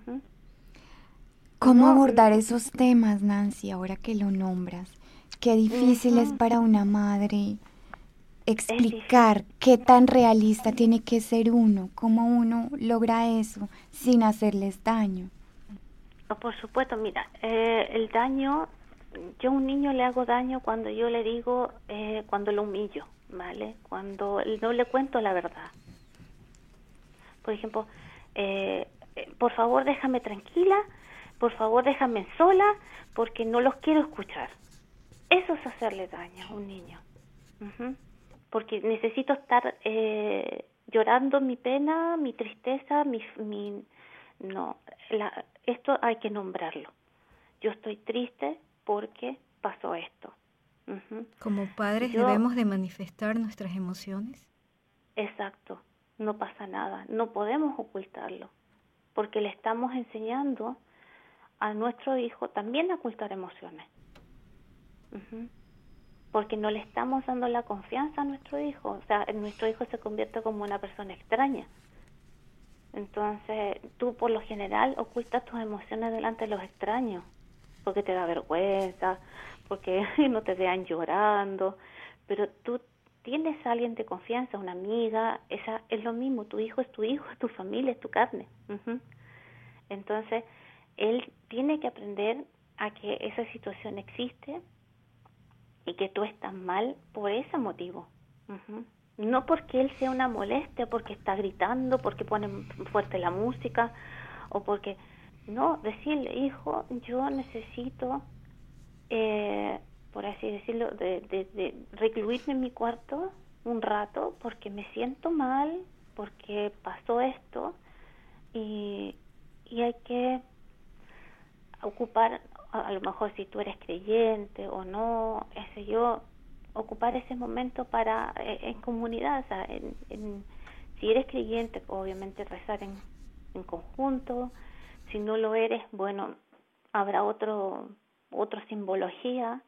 Speaker 5: ¿Cómo abordar esos temas, Nancy, ahora que lo nombras? Qué difícil es para una madre explicar qué tan realista tiene que ser uno, cómo uno logra eso sin hacerles daño.
Speaker 7: Por supuesto, mira, el daño, yo a un niño le hago daño cuando yo le digo, cuando lo humillo, ¿vale? Cuando no le cuento la verdad. Por ejemplo, por favor déjame tranquila, por favor déjame sola, porque no los quiero escuchar. Eso es hacerle daño a un niño. Porque necesito estar llorando mi pena, mi tristeza, esto hay que nombrarlo. Yo estoy triste porque pasó esto.
Speaker 6: Como padres debemos de manifestar nuestras emociones.
Speaker 7: Exacto, no pasa nada, no podemos ocultarlo, porque le estamos enseñando a nuestro hijo también a ocultar emociones. Porque no le estamos dando la confianza a nuestro hijo. O sea, nuestro hijo se convierte como una persona extraña. Entonces, tú por lo general ocultas tus emociones delante de los extraños, porque te da vergüenza, porque no te vean llorando, pero tú tienes a alguien de confianza, una amiga, esa es lo mismo, tu hijo, es tu familia, es tu carne. Entonces, él tiene que aprender a que esa situación existe y que tú estás mal por ese motivo. No porque él sea una molestia, porque está gritando, porque pone fuerte la música, o porque... No, decirle, hijo, yo necesito, por así decirlo, de recluirme en mi cuarto un rato, porque me siento mal, porque pasó esto, y hay que ocupar, a lo mejor si tú eres creyente o no, ocupar ese momento para en comunidad, o sea, si eres creyente, obviamente rezar en conjunto. Si no lo eres, bueno, habrá otra simbología.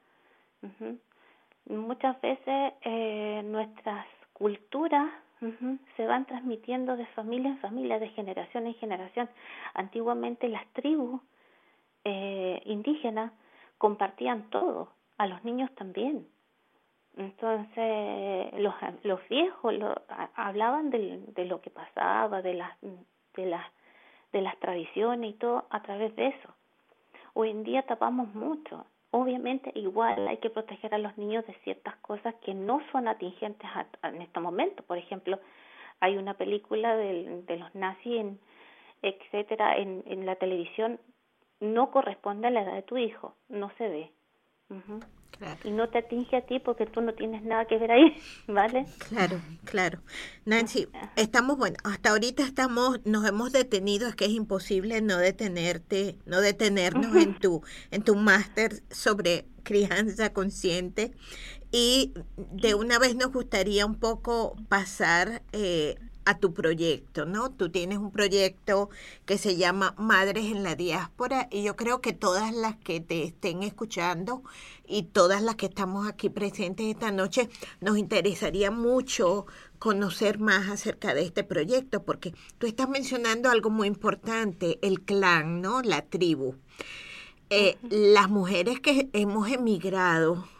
Speaker 7: Muchas veces nuestras culturas se van transmitiendo de familia en familia, de generación en generación. Antiguamente las tribus indígenas compartían todo, a los niños también. Entonces los viejos hablaban de lo que pasaba, de las tradiciones y todo a través de eso. Hoy en día tapamos mucho. Obviamente igual hay que proteger a los niños de ciertas cosas que no son atingentes en este momento. Por ejemplo, hay una película de los nazis, etcétera, en la televisión, no corresponde a la edad de tu hijo, no se ve. Claro. Y no te atinge a ti porque tú no tienes nada que ver ahí, ¿vale?
Speaker 4: Claro. Nancy, hasta ahorita nos hemos detenido, es que es imposible no detenernos en tu máster sobre crianza consciente, y de una vez nos gustaría un poco pasar a tu proyecto, ¿no? Tú tienes un proyecto que se llama Madres en la Diáspora, y yo creo que todas las que te estén escuchando y todas las que estamos aquí presentes esta noche, nos interesaría mucho conocer más acerca de este proyecto, porque tú estás mencionando algo muy importante, el clan, ¿no? La tribu. Las mujeres que hemos emigrado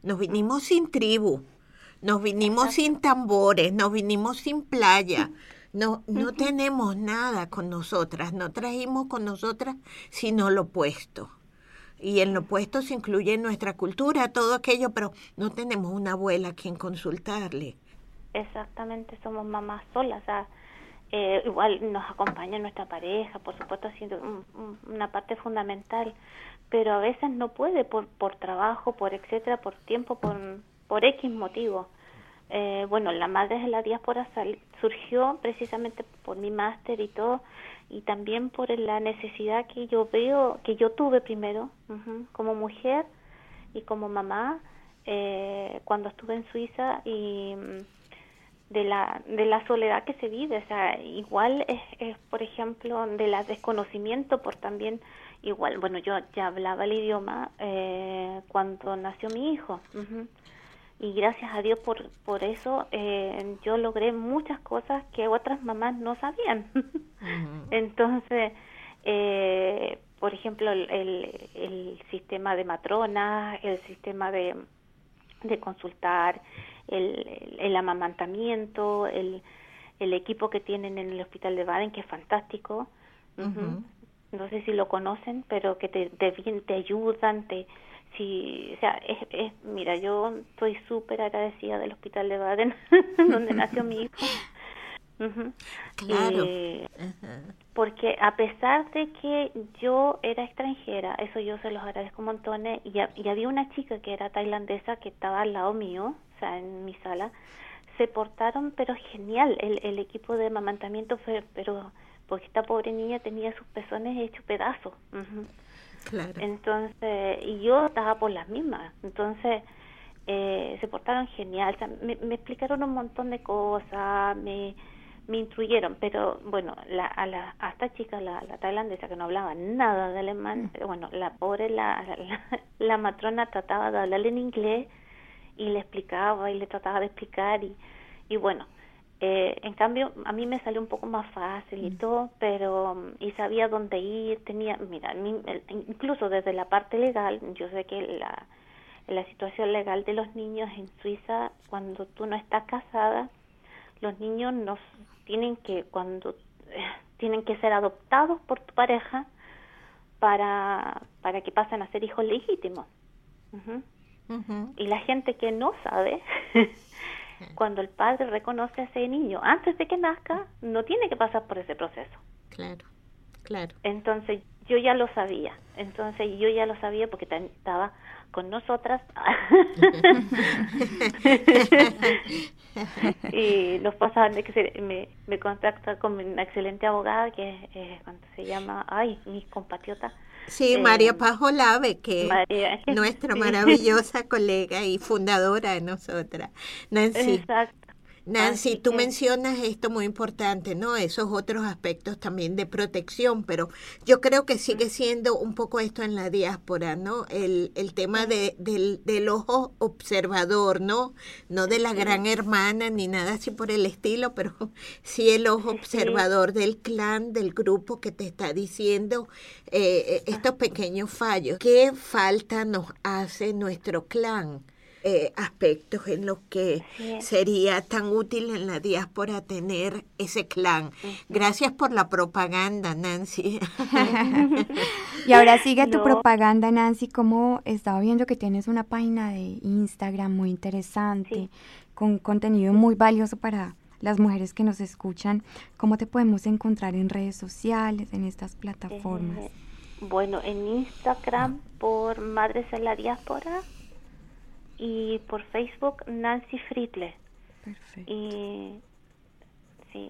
Speaker 4: Nos vinimos sin tribu, nos vinimos sin tambores, nos vinimos sin playa. No tenemos nada con nosotras, no trajimos con nosotras sino lo opuesto. Y en lo opuesto se incluye nuestra cultura, todo aquello, pero no tenemos una abuela a quien consultarle.
Speaker 7: Exactamente, somos mamás solas, o sea, igual nos acompaña nuestra pareja, por supuesto, siendo una parte fundamental, pero a veces no puede por trabajo, por etcétera, por tiempo, por X motivo. Bueno, la Madres de la Diáspora surgió precisamente por mi máster y todo, y también por la necesidad que yo veo, que yo tuve primero, como mujer y como mamá, cuando estuve en Suiza, y de la soledad que se vive. O sea, igual es por ejemplo, de la desconocimiento, por también, igual, bueno, yo ya hablaba el idioma cuando nació mi hijo, y gracias a Dios por eso yo logré muchas cosas que otras mamás no sabían. Entonces, por ejemplo, el sistema de matronas, el sistema de consultar, el amamantamiento, el equipo que tienen en el hospital de Baden, que es fantástico. No sé si lo conocen, pero que te ayudan, o sea, mira, yo estoy súper agradecida del hospital de Baden, donde nació mi hijo.
Speaker 4: Claro.
Speaker 7: Porque a pesar de que yo era extranjera, eso yo se los agradezco montones, y había una chica que era tailandesa que estaba al lado mío, o sea, en mi sala, se portaron pero genial, el equipo de amamantamiento fue, pero porque esta pobre niña tenía sus pezones hechos pedazos.
Speaker 4: Claro.
Speaker 7: Entonces, y yo estaba por las mismas, entonces se portaron genial, o sea, me explicaron un montón de cosas, me instruyeron, pero bueno, a esta chica, la tailandesa, que no hablaba nada de alemán, bueno, la pobre, la matrona trataba de hablarle en inglés y le explicaba y le trataba de explicar, y bueno, en cambio a mí me salió un poco más fácil y todo, pero y sabía dónde ir, mira, incluso desde la parte legal, yo sé que la situación legal de los niños en Suiza, cuando tú no estás casada, los niños tienen que ser adoptados por tu pareja para que pasen a ser hijos legítimos. Y la gente que no sabe, cuando el padre reconoce a ese niño antes de que nazca, no tiene que pasar por ese proceso.
Speaker 4: Claro.
Speaker 7: Entonces yo ya lo sabía, porque estaba con nosotras y los pasaban de que me contacta con una excelente abogada que ¿cuánto se llama? Mi compatriota.
Speaker 4: Sí, María Paz Olave, que es nuestra
Speaker 7: sí,
Speaker 4: maravillosa colega y fundadora de nosotras. Nancy.
Speaker 7: Exacto.
Speaker 4: Nancy, tú mencionas esto muy importante, ¿no? Esos otros aspectos también de protección, pero yo creo que sigue siendo un poco esto en la diáspora, ¿no? El tema del ojo observador, ¿no? No de la gran hermana ni nada así por el estilo, pero sí el ojo observador del clan, del grupo que te está diciendo estos pequeños fallos. ¿Qué falta nos hace nuestro clan? Aspectos en los que sería tan útil en la diáspora tener ese clan. Gracias por la propaganda, Nancy.
Speaker 5: Y ahora sigue tu propaganda, Nancy. Como estaba viendo que tienes una página de Instagram muy interesante, con contenido muy valioso para las mujeres que nos escuchan. ¿Cómo te podemos encontrar en redes sociales, en estas plataformas?
Speaker 7: Bueno, en Instagram por Madres en la Diáspora, y por Facebook Nancy Friedle.
Speaker 5: Perfecto.
Speaker 7: Y sí,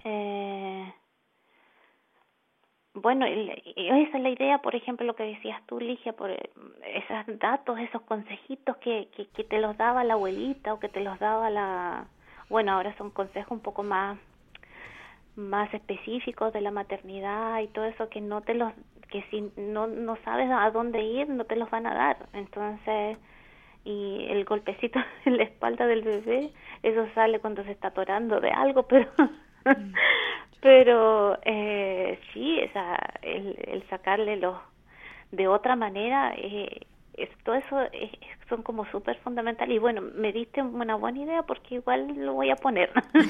Speaker 7: bueno, esa es la idea, por ejemplo, lo que decías tú, Ligia, por esos datos, esos consejitos que te los daba la abuelita o que te los daba bueno, ahora son consejos un poco más específicos de la maternidad y todo eso, que si no sabes a dónde ir, no te los van a dar. Entonces, y el golpecito en la espalda del bebé, eso sale cuando se está atorando de algo, pero sí, el sacarle de otra manera todo eso son como súper fundamentales. Y bueno, me diste una buena idea porque igual lo voy a poner.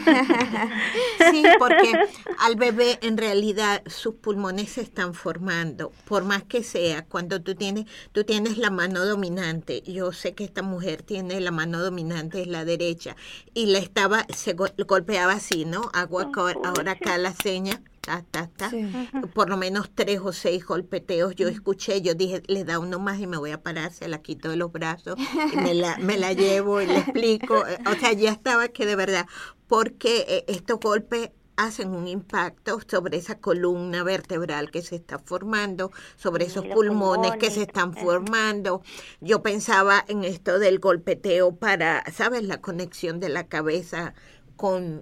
Speaker 4: Sí, porque al bebé en realidad sus pulmones se están formando, por más que sea, cuando tú tienes la mano dominante. Yo sé que esta mujer tiene la mano dominante, es la derecha, y se golpeaba así, ¿no? Hago ahora acá la seña. Sí. Por lo menos 3 o 6 golpeteos yo escuché, yo dije, le da uno más y me voy a parar, se la quito de los brazos y me la llevo y le explico, o sea, ya estaba que de verdad, porque estos golpes hacen un impacto sobre esa columna vertebral que se está formando, sobre esos pulmones que se están formando. Yo pensaba en esto del golpeteo para, ¿sabes? La conexión de la cabeza con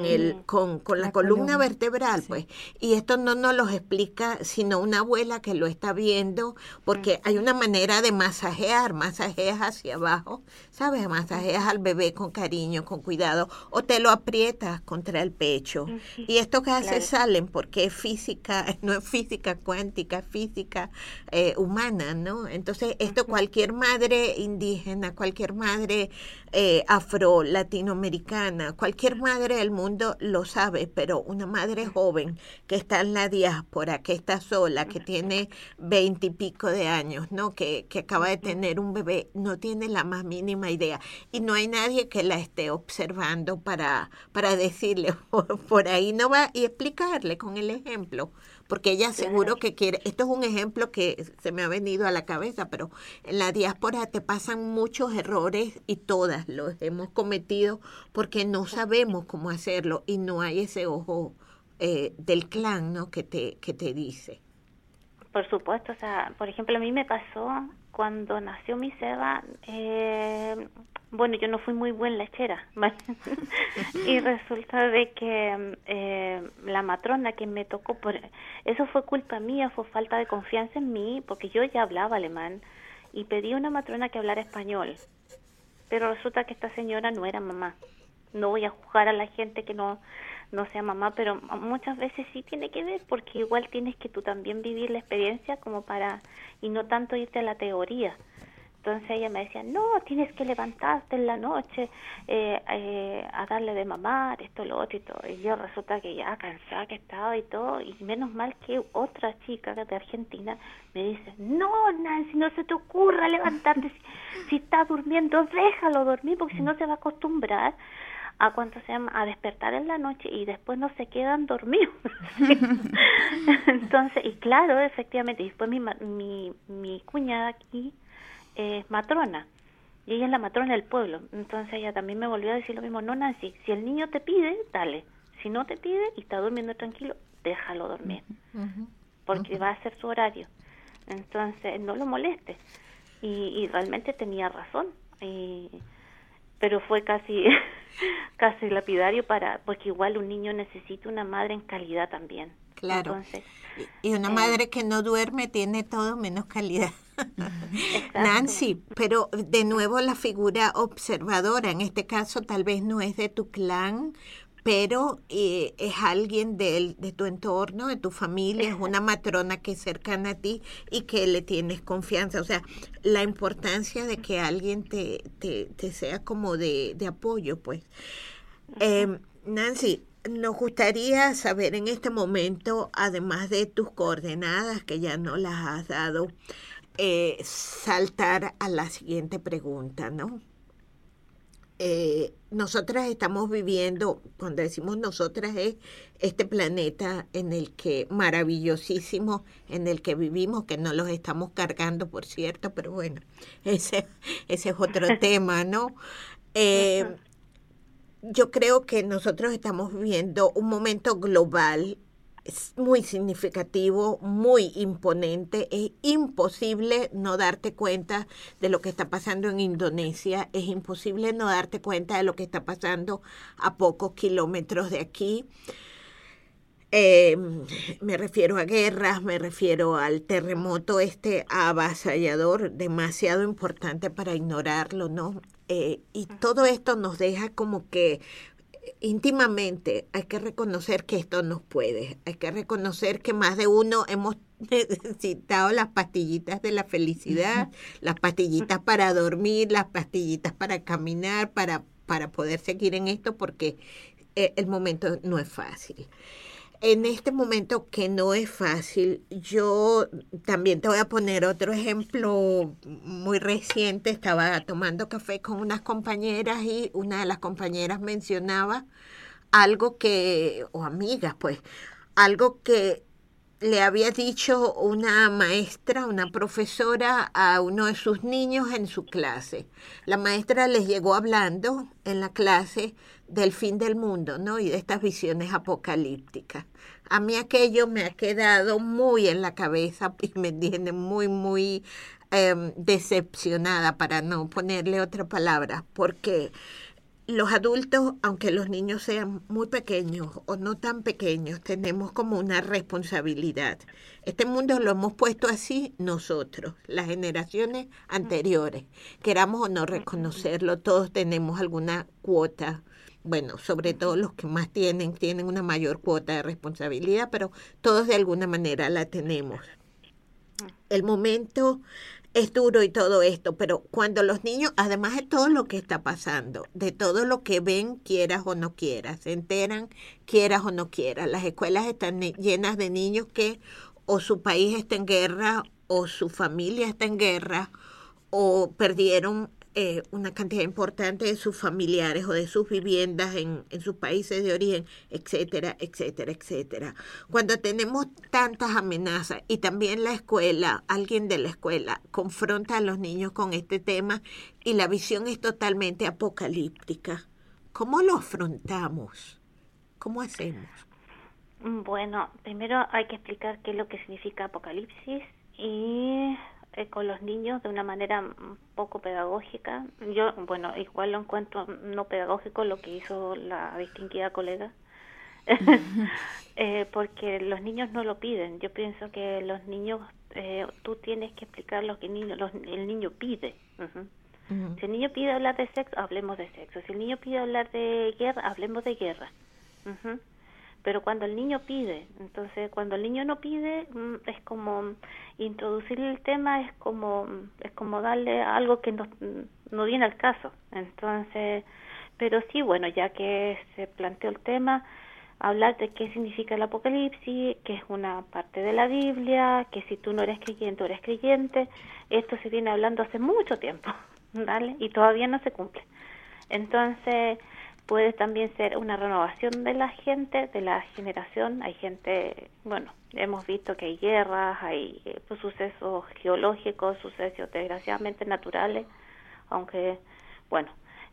Speaker 4: la columna vertebral, sí. Pues, y esto no nos lo explica sino una abuela que lo está viendo, porque hay una manera de masajeas hacia abajo, ¿sabes? Masajeas al bebé con cariño, con cuidado, o te lo aprietas contra el pecho, y esto que hace salen, porque es física, no es física cuántica, es física humana, ¿no? Entonces, esto cualquier madre indígena, cualquier madre afro, latinoamericana, cualquier madre del mundo lo sabe, pero una madre joven que está en la diáspora, que está sola, que tiene 20 y pico de años, ¿no? Que acaba de tener un bebé, no tiene la más mínima idea. Y no hay nadie que la esté observando para decirle, por ahí no va, y explicarle con el ejemplo. Porque ella seguro que quiere, esto es un ejemplo que se me ha venido a la cabeza, pero en la diáspora te pasan muchos errores y todas los hemos cometido porque no sabemos cómo hacerlo y no hay ese ojo del clan, ¿no? que te dice.
Speaker 7: Por supuesto, o sea, por ejemplo, a mí me pasó cuando nació mi Seba, bueno, yo no fui muy buen lechera, ¿vale? Y resulta de que la matrona que me tocó, eso fue culpa mía, fue falta de confianza en mí, porque yo ya hablaba alemán y pedí a una matrona que hablara español, pero resulta que esta señora no era mamá. No voy a juzgar a la gente que no sea mamá, pero muchas veces sí tiene que ver, porque igual tienes que tú también vivir la experiencia como para, y no tanto irte a la teoría. Entonces ella me decía, no, tienes que levantarte en la noche a darle de mamar, esto, lo otro y todo. Y yo resulta que ya cansada que estaba y todo, y menos mal que otra chica de Argentina me dice, no, Nancy, no se te ocurra levantarte, si está durmiendo, déjalo dormir, porque si no se va a acostumbrar a despertar en la noche y después no se quedan dormidos. Entonces, y claro, efectivamente, y después mi cuñada aquí es matrona, y ella es la matrona del pueblo, entonces ella también me volvió a decir lo mismo, no, Nancy, si el niño te pide, dale, si no te pide y está durmiendo tranquilo, déjalo dormir, porque va a ser su horario, entonces no lo molestes, y realmente tenía razón, pero fue casi lapidario porque igual un niño necesita una madre en calidad también.
Speaker 4: Claro.
Speaker 7: Entonces,
Speaker 4: y una madre que no duerme tiene todo menos calidad. Nancy, pero de nuevo la figura observadora, en este caso tal vez no es de tu clan, pero es alguien de tu entorno, de tu familia, es una matrona que es cercana a ti y que le tienes confianza. O sea, la importancia de que alguien te sea como de apoyo, pues. Nancy, nos gustaría saber en este momento, además de tus coordenadas, que ya no las has dado, saltar a la siguiente pregunta, ¿no? Nosotras estamos viviendo, cuando decimos nosotras, es este planeta en el que maravillosísimo, en el que vivimos, que no los estamos cargando, por cierto, pero bueno, ese es otro tema, ¿no? Yo creo que nosotros estamos viviendo un momento global muy significativo, muy imponente. Es imposible no darte cuenta de lo que está pasando en Indonesia, es imposible no darte cuenta de lo que está pasando a pocos kilómetros de aquí. Me refiero a guerras, me refiero al terremoto avasallador, demasiado importante para ignorarlo, ¿no? Y todo esto nos deja como que íntimamente hay que reconocer que esto nos puede, hay que reconocer que más de uno hemos necesitado las pastillitas de la felicidad, las pastillitas para dormir, las pastillitas para caminar, para poder seguir en esto, porque el momento no es fácil. En este momento que no es fácil, yo también te voy a poner otro ejemplo muy reciente. Estaba tomando café con unas compañeras y una de las compañeras mencionaba algo o amigas pues, algo que le había dicho una maestra, una profesora a uno de sus niños en su clase. La maestra les llegó hablando en la clase del fin del mundo, ¿no? Y de estas visiones apocalípticas. A mí aquello me ha quedado muy en la cabeza y me tiene muy decepcionada, para no ponerle otra palabra, porque los adultos, aunque los niños sean muy pequeños o no tan pequeños, tenemos como una responsabilidad. Este mundo lo hemos puesto así nosotros, las generaciones anteriores. Queramos o no reconocerlo, todos tenemos alguna cuota. Bueno, sobre todo los que más tienen una mayor cuota de responsabilidad, pero todos de alguna manera la tenemos. El momento es duro y todo esto, pero cuando los niños, además de todo lo que está pasando, de todo lo que ven, quieras o no quieras, se enteran, quieras o no quieras, las escuelas están llenas de niños que o su país está en guerra, o su familia está en guerra, o perdieron una cantidad importante de sus familiares o de sus viviendas en sus países de origen, etcétera, etcétera, etcétera. Cuando tenemos tantas amenazas y también la escuela, alguien de la escuela confronta a los niños con este tema y la visión es totalmente apocalíptica, ¿cómo lo afrontamos? ¿Cómo hacemos?
Speaker 7: Bueno, primero hay que explicar qué es lo que significa apocalipsis y con los niños de una manera un poco pedagógica. Yo, bueno, igual lo encuentro no pedagógico lo que hizo la distinguida colega, porque los niños no lo piden. Yo pienso que los niños, tú tienes que explicar lo que el niño pide. Si el niño pide hablar de sexo, hablemos de sexo. Si el niño pide hablar de guerra, hablemos de guerra. Pero cuando el niño pide, entonces cuando el niño no pide, es como introducirle el tema, es como darle algo que no viene al caso. Entonces, pero sí, bueno, ya que se planteó el tema, hablar de qué significa el apocalipsis, que es una parte de la Biblia, que si tú no eres creyente o eres creyente, esto se viene hablando hace mucho tiempo, ¿vale? Y todavía no se cumple. Entonces, puede también ser una renovación de la gente, de la generación. Hay gente, bueno, hemos visto que hay guerras, hay sucesos geológicos, sucesos desgraciadamente naturales, aunque, bueno,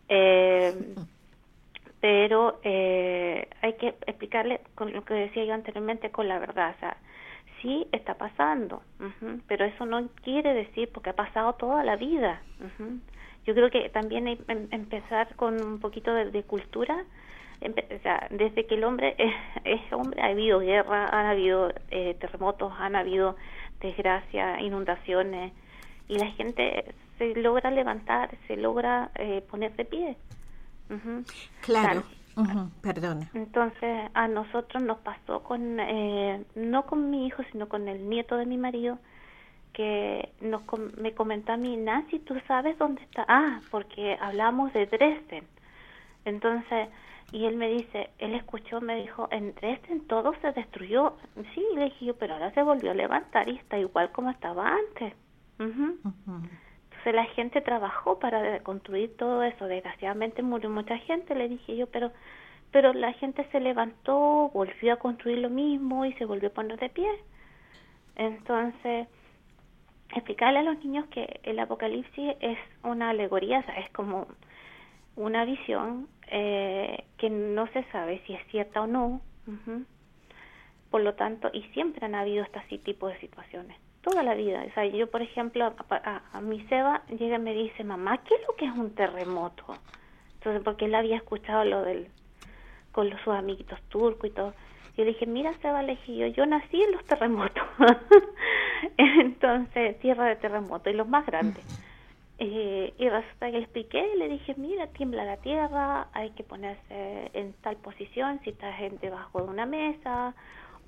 Speaker 7: pero hay que explicarle con lo que decía yo anteriormente, con la verdad. O sea, sí está pasando, pero eso no quiere decir, porque ha pasado toda la vida. Yo creo que también hay empezar con un poquito de cultura. O sea, desde que el hombre es hombre, ha habido guerra, han habido terremotos, han habido desgracias, inundaciones, y la gente se logra levantar, se logra poner de pie.
Speaker 4: Claro. Perdona.
Speaker 7: Entonces, a nosotros nos pasó no con mi hijo, sino con el nieto de mi marido, que me comentó a mí: Nancy, ¿tú sabes dónde está? Porque hablamos de Dresden. Entonces, y él me dice, él escuchó, me dijo, en Dresden todo se destruyó. Sí, le dije yo, pero ahora se volvió a levantar y está igual como estaba antes. Entonces la gente trabajó para construir todo eso. Desgraciadamente murió mucha gente, le dije yo, pero la gente se levantó, volvió a construir lo mismo y se volvió a poner de pie. Entonces, explicarle a los niños que el apocalipsis es una alegoría, o sea, es como una visión que no se sabe si es cierta o no. Por lo tanto, y siempre han habido este tipo de situaciones, toda la vida. O sea, yo, por ejemplo, a mi Seba llega y me dice: mamá, ¿qué es lo que es un terremoto? Entonces, porque él había escuchado con sus amiguitos turcos y todo. Yo le dije: mira, Seba, le dije yo nací en los terremotos. Entonces, tierra de terremoto, y los más grandes. Y resulta que le expliqué, le dije: mira, tiembla la tierra, hay que ponerse en tal posición, si estás debajo de una mesa,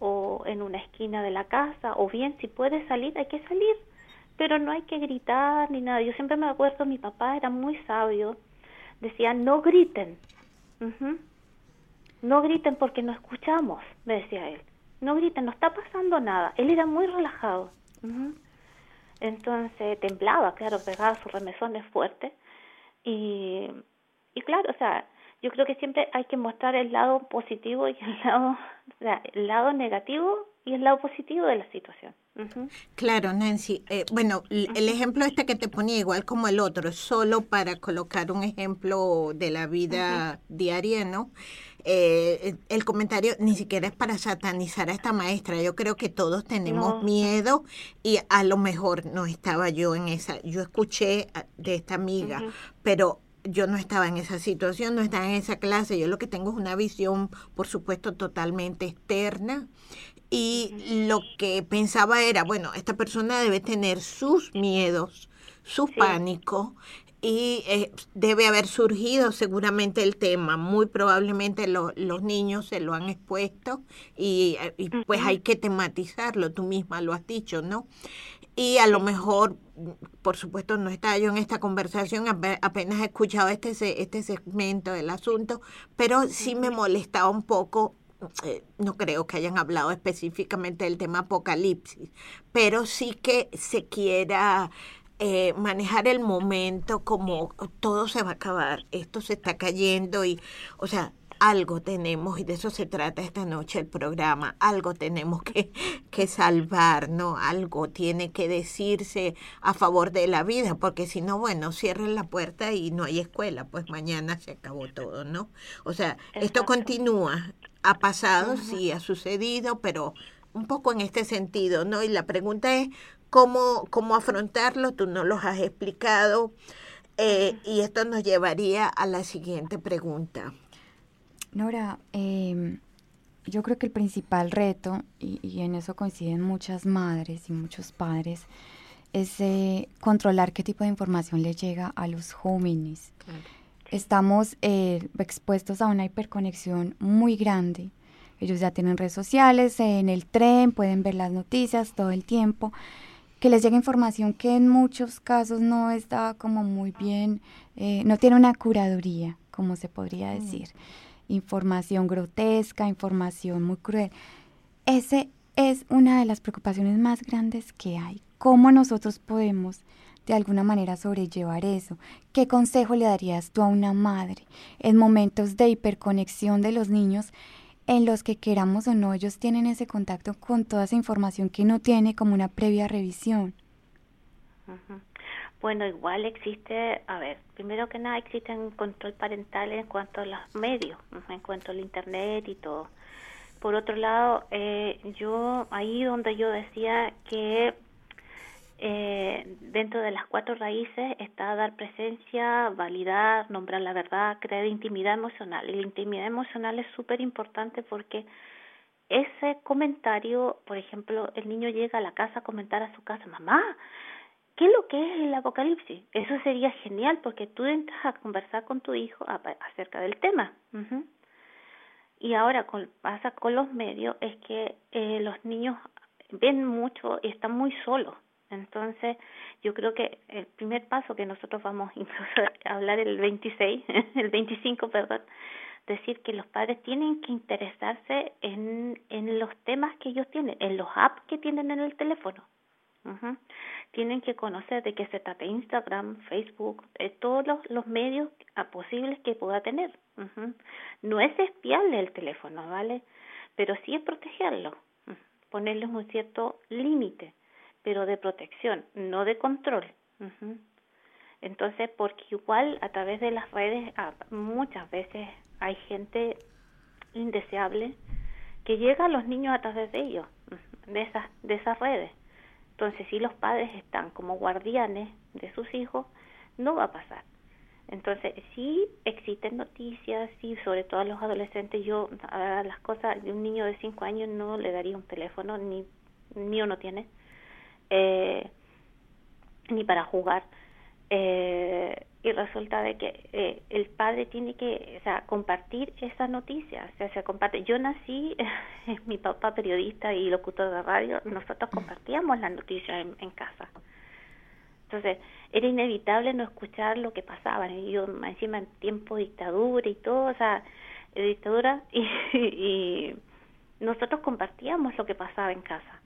Speaker 7: o en una esquina de la casa, o bien si puede salir, hay que salir, pero no hay que gritar ni nada. Yo siempre me acuerdo, mi papá era muy sabio, decía, no griten, no griten porque no escuchamos, me decía él, no griten, no está pasando nada. Él era muy relajado. Entonces temblaba, claro, pegaba sus remesones fuertes, y claro, o sea, yo creo que siempre hay que mostrar el lado positivo y el lado negativo y el lado positivo de la situación.
Speaker 4: Claro, Nancy. Bueno, el ejemplo este que te ponía, igual como el otro, es solo para colocar un ejemplo de la vida diaria, ¿no? El comentario ni siquiera es para satanizar a esta maestra. Yo creo que todos tenemos miedo, y a lo mejor no estaba yo en esa. Yo escuché de esta amiga, pero yo no estaba en esa situación, no estaba en esa clase. Yo lo que tengo es una visión, por supuesto, totalmente externa. Y lo que pensaba era, bueno, esta persona debe tener sus miedos, su pánico, y debe haber surgido seguramente el tema. Muy probablemente los niños se lo han expuesto, y pues hay que tematizarlo. Tú misma lo has dicho, ¿no? Y a lo mejor, por supuesto, no estaba yo en esta conversación, apenas he escuchado este segmento del asunto, pero sí me molestaba un poco. No creo que hayan hablado específicamente del tema apocalipsis, pero sí que se quiera manejar el momento como todo se va a acabar, esto se está cayendo, y, o sea, algo tenemos, y de eso se trata esta noche el programa, algo tenemos que salvar, ¿no? Algo tiene que decirse a favor de la vida, porque si no, bueno, cierren la puerta y no hay escuela, pues mañana se acabó todo, ¿no? O sea, esto continúa, ha pasado, sí, ha sucedido, pero un poco en este sentido, ¿no? Y la pregunta es, ¿cómo afrontarlo? Tú no los has explicado, y esto nos llevaría a la siguiente pregunta.
Speaker 5: Nora, yo creo que el principal reto, y en eso coinciden muchas madres y muchos padres, es controlar qué tipo de información le llega a los jóvenes. Claro. Estamos expuestos a una hiperconexión muy grande. Ellos ya tienen redes sociales, en el tren pueden ver las noticias todo el tiempo, que les llega información que en muchos casos no está como muy bien, no tiene una curaduría, como se podría decir. Información grotesca, información muy cruel. Ese es una de las preocupaciones más grandes que hay. ¿Cómo nosotros podemos de alguna manera sobrellevar eso? ¿Qué consejo le darías tú a una madre en momentos de hiperconexión de los niños, en los que queramos o no, ellos tienen ese contacto con toda esa información que no tiene como una previa revisión?
Speaker 7: Bueno, igual existe, a ver, primero que nada existe un control parental en cuanto a los medios, en cuanto al internet y todo. Por otro lado, yo ahí donde yo decía que dentro de las 4 raíces está dar presencia, validar, nombrar la verdad, crear intimidad emocional. Y la intimidad emocional es súper importante porque ese comentario, por ejemplo, el niño llega a la casa a comentar a su casa, mamá, ¿qué es lo que es el apocalipsis? Eso sería genial porque tú entras a conversar con tu hijo acerca del tema. Y ahora pasa con los medios, es que los niños ven mucho y están muy solos. Entonces, yo creo que el primer paso que nosotros vamos incluso a hablar el 25, decir que los padres tienen que interesarse en los temas que ellos tienen, en los apps que tienen en el teléfono. Tienen que conocer de qué se trata Instagram, Facebook, todos los medios posibles que pueda tener. No es espiarle el teléfono, ¿vale? Pero sí es protegerlo, ponerles un cierto límite, pero de protección, no de control. Entonces, porque igual a través de las redes muchas veces hay gente indeseable que llega a los niños a través de ellos, de esas redes. Entonces, si los padres están como guardianes de sus hijos, no va a pasar. Entonces, sí existen noticias, sí, sobre todo a los adolescentes. Yo a las cosas de un niño de 5 años no le daría un teléfono, ni uno tiene, ni para jugar. y resulta de que el padre tiene que, o sea, compartir esa noticia, o sea, se comparte. Yo nací, mi papá periodista y locutor de radio, nosotros compartíamos la noticia en casa. Entonces, era inevitable no escuchar lo que pasaba. Y yo, encima, en tiempo de dictadura y todo, o sea, dictadura, y nosotros compartíamos lo que pasaba en casa.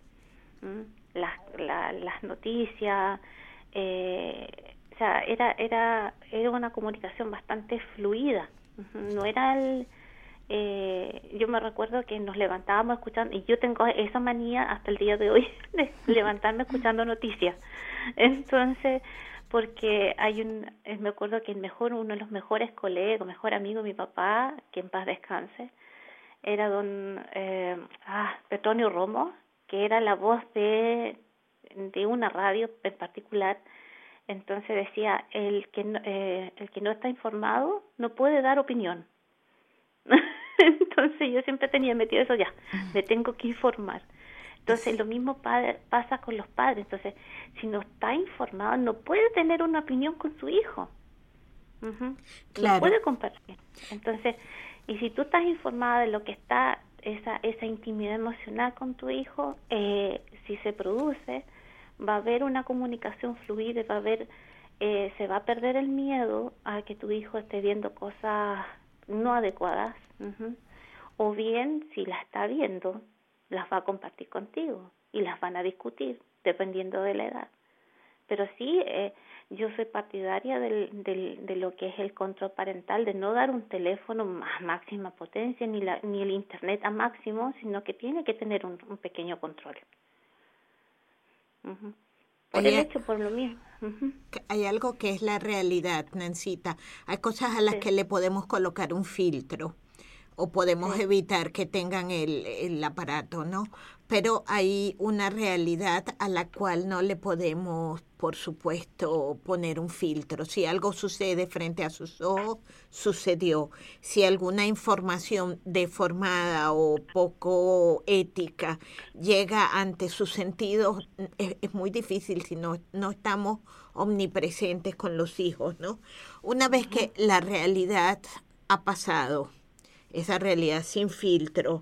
Speaker 7: Las noticias, o sea, era una comunicación bastante fluida. No era yo me recuerdo que nos levantábamos escuchando, y yo tengo esa manía hasta el día de hoy de levantarme escuchando noticias. Entonces, porque me acuerdo que uno de los mejores colegas, mejor amigo de mi papá, que en paz descanse, era don Petronio Romo, que era la voz de una radio en particular. Entonces decía, el que no está informado no puede dar opinión. Entonces yo siempre tenía metido eso, ya, me tengo que informar. Entonces lo mismo pasa con los padres. Entonces, si no está informado, no puede tener una opinión con su hijo.
Speaker 4: Claro.
Speaker 7: No puede compartir. Entonces, y si tú estás informada de lo que está, esa intimidad emocional con tu hijo, si se produce, va a haber una comunicación fluida, se va a perder el miedo a que tu hijo esté viendo cosas no adecuadas, o bien, si las está viendo, las va a compartir contigo y las van a discutir, dependiendo de la edad. Pero sí, yo soy partidaria de lo que es el control parental, de no dar un teléfono a máxima potencia, ni el internet a máximo, sino que tiene que tener un pequeño control. Por lo mismo.
Speaker 4: Hay algo que es la realidad, Nancita. Hay cosas a las que le podemos colocar un filtro o podemos evitar que tengan el aparato, ¿no? Pero hay una realidad a la cual no le podemos, por supuesto, poner un filtro. Si algo sucede frente a sus ojos, sucedió. Si alguna información deformada o poco ética llega ante sus sentidos, es muy difícil si no estamos omnipresentes con los hijos, ¿no? Una vez que la realidad ha pasado, esa realidad sin filtro,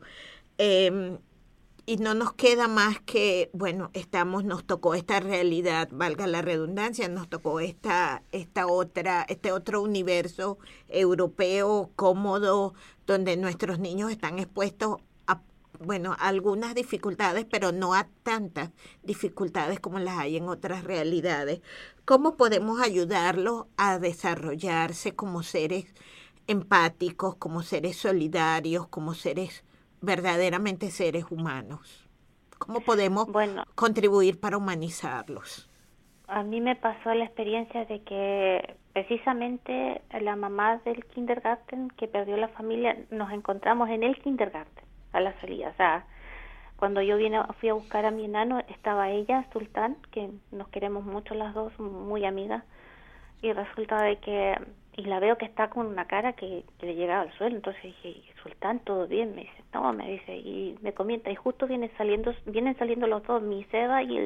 Speaker 4: y no nos queda más que, bueno, nos tocó esta realidad, valga la redundancia, nos tocó este otro universo europeo cómodo, donde nuestros niños están expuestos a algunas dificultades, pero no a tantas dificultades como las hay en otras realidades. ¿Cómo podemos ayudarlos a desarrollarse como seres empáticos, como seres solidarios, como verdaderamente seres humanos? ¿Cómo podemos contribuir para humanizarlos?
Speaker 7: A mí me pasó la experiencia de que precisamente la mamá del kindergarten que perdió la familia, nos encontramos en el kindergarten a la salida. O sea, cuando yo fui a buscar a mi enano, estaba ella, Sultán, que nos queremos mucho las dos, muy amigas, y resulta de que y la veo que está con una cara que le llegaba al suelo. Entonces dije, Sultán, ¿todo bien? Me dice, no, me dice, y me comenta, y justo vienen saliendo los dos, mi Seba y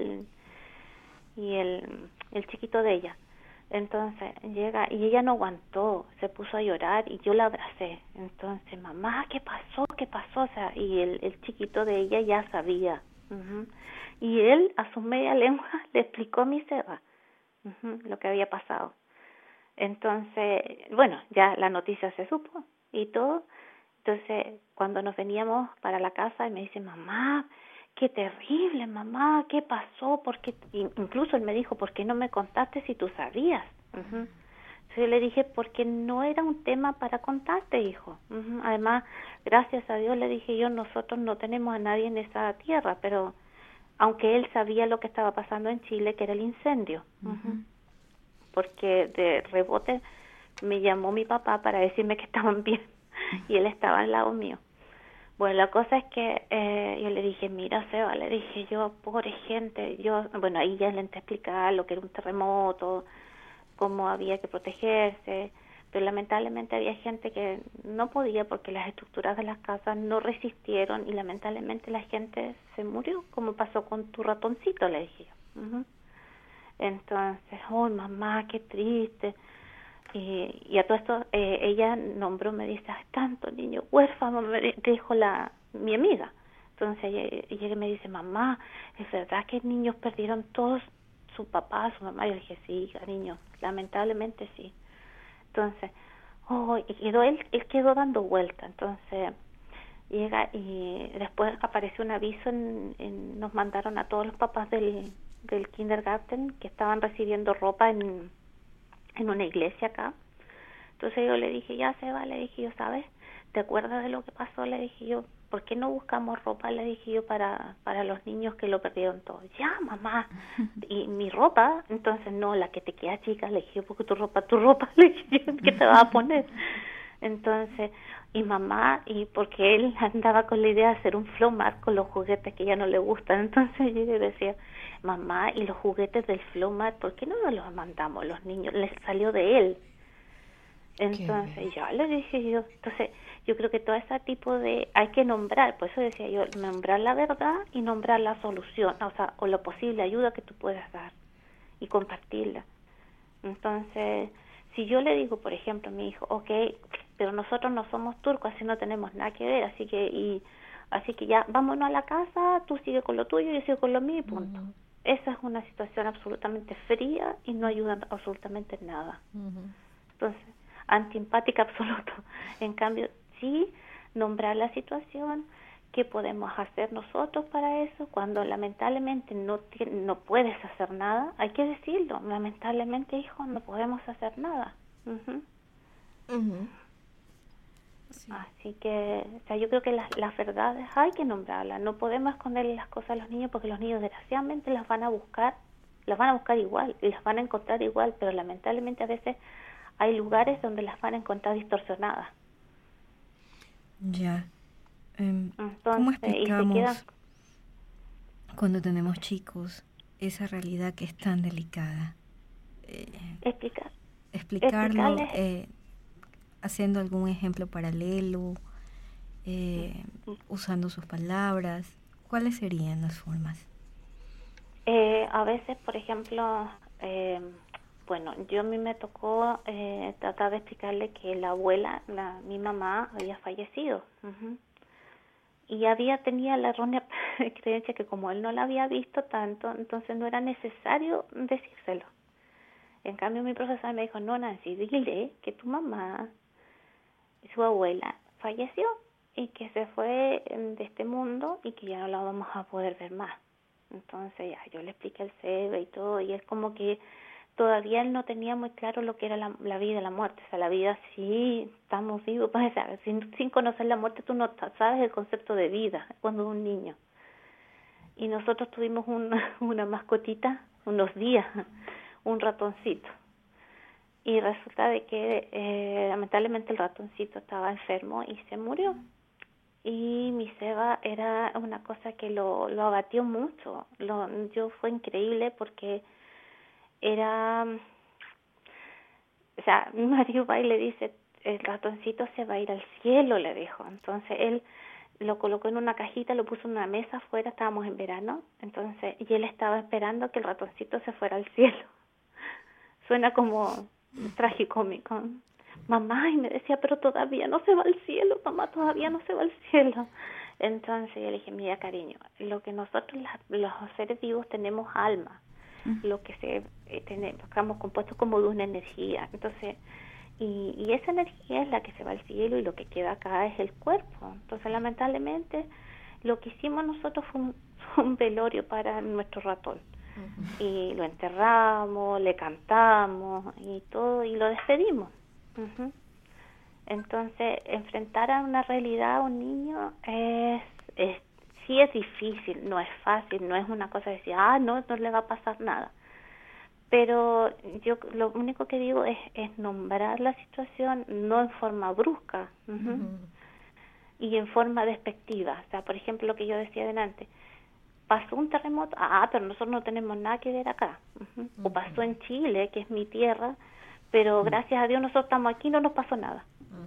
Speaker 7: el chiquito de ella. Entonces llega, y ella no aguantó, se puso a llorar, y yo la abracé. Entonces, mamá, ¿qué pasó? O sea, y el chiquito de ella ya sabía. Y él, a su media lengua, le explicó a mi Seba lo que había pasado. Entonces, bueno, ya la noticia se supo y todo. Entonces, cuando nos veníamos para la casa, y me dice, mamá, qué terrible, mamá, ¿qué pasó? Porque incluso él me dijo, ¿por qué no me contaste si tú sabías? Entonces yo le dije, porque no era un tema para contarte, hijo. Además, gracias a Dios, le dije yo, nosotros no tenemos a nadie en esa tierra, pero aunque él sabía lo que estaba pasando en Chile, que era el incendio. Porque de rebote me llamó mi papá para decirme que estaban bien y él estaba al lado mío. Bueno, la cosa es que yo le dije, mira, Seba, le dije yo, pobre gente, ahí ya le intenté explicar lo que era un terremoto, cómo había que protegerse, pero lamentablemente había gente que no podía porque las estructuras de las casas no resistieron y lamentablemente la gente se murió, como pasó con tu ratoncito, le dije yo. Entonces, mamá, qué triste. Y a todo esto ella nombró, me dice, hay tantos niños huérfanos, me dijo mi amiga. Entonces ella me dice, mamá, ¿es verdad que niños perdieron todos su papá, su mamá? Yo le dije, sí, cariño, lamentablemente sí. Entonces, él quedó dando vuelta. Entonces llega y después apareció un aviso, nos mandaron a todos los papás del kindergarten que estaban recibiendo ropa en una iglesia acá. Entonces yo le dije, ya se va, le dije yo, ¿sabes? ¿Te acuerdas de lo que pasó? Le dije yo, ¿por qué no buscamos ropa? Le dije yo, para los niños que lo perdieron todo. Ya, mamá, ¿y mi ropa? Entonces, no, la que te queda chica. Le dije yo, porque tu ropa, le dije yo, ¿qué te vas a poner? Entonces, y mamá, y porque él andaba con la idea de hacer un flowmart con los juguetes que ya no le gustan. Entonces yo le decía, mamá, y los juguetes del flowmart, ¿por qué no nos los mandamos los niños? Les salió de él. Entonces ya le dije yo, entonces yo creo que todo ese tipo hay que nombrar, por eso decía yo, nombrar la verdad y nombrar la solución, o la posible ayuda que tú puedas dar y compartirla. Entonces, si yo le digo, por ejemplo, a mi hijo, okay, pero nosotros no somos turcos, así no tenemos nada que ver, así que ya vámonos a la casa, tú sigue con lo tuyo, yo sigo con lo mío y punto. Esa es una situación absolutamente fría y no ayuda absolutamente en nada. Entonces, antiempática absoluto. En cambio, sí, nombrar la situación, qué podemos hacer nosotros para eso, cuando lamentablemente no puedes hacer nada, hay que decirlo, lamentablemente, hijo, no podemos hacer nada. Sí. Así que, yo creo que las verdades hay que nombrarlas, no podemos esconderle las cosas a los niños, porque los niños desgraciadamente las van a buscar igual, y las van a encontrar igual, pero lamentablemente a veces hay lugares donde las van a encontrar distorsionadas.
Speaker 6: Ya.
Speaker 7: Entonces,
Speaker 6: ¿Cómo explicamos cuando tenemos chicos esa realidad que es tan delicada? Explicarlo haciendo algún ejemplo paralelo, usando sus palabras. ¿Cuáles serían las formas?
Speaker 7: A veces, por ejemplo, a mí me tocó tratar de explicarle que la abuela, mi mamá, había fallecido. Y tenía la errónea creencia que como él no la había visto tanto, entonces no era necesario decírselo. En cambio, mi profesora me dijo, no, Nancy, dile que tu mamá, su abuela, falleció y que se fue de este mundo y que ya no la vamos a poder ver más. Entonces yo le expliqué el cerebro y todo, y es como que todavía él no tenía muy claro lo que era la vida y la muerte. O sea, la vida sí, estamos vivos, pues, sin conocer la muerte tú no sabes el concepto de vida cuando un niño. Y nosotros tuvimos una mascotita unos días, un ratoncito. Y resulta de que lamentablemente el ratoncito estaba enfermo y se murió. Y mi Seba era una cosa que lo abatió mucho. Fue increíble porque era, mi marido va y le dice, el ratoncito se va a ir al cielo, le dijo. Entonces él lo colocó en una cajita, lo puso en una mesa afuera, estábamos en verano, y él estaba esperando que el ratoncito se fuera al cielo. Suena como tragicómico. Mamá, y me decía, pero todavía no se va al cielo, mamá, todavía no se va al cielo. Entonces yo le dije, mira, cariño, lo que nosotros los seres vivos tenemos alma, lo que estamos compuestos como de una energía. Entonces, y esa energía es la que se va al cielo y lo que queda acá es el cuerpo. Entonces, lamentablemente, lo que hicimos nosotros fue un velorio para nuestro ratón. Y lo enterramos, le cantamos y todo, y lo despedimos. Entonces, enfrentar a una realidad a un niño sí es difícil, no es fácil, no es una cosa de decir, no le va a pasar nada. Pero yo lo único que digo es nombrar la situación, no en forma brusca, y en forma despectiva. O sea, por ejemplo, lo que yo decía delante, pasó un terremoto, pero nosotros no tenemos nada que ver acá. O pasó en Chile, que es mi tierra, pero gracias a Dios nosotros estamos aquí y no nos pasó nada.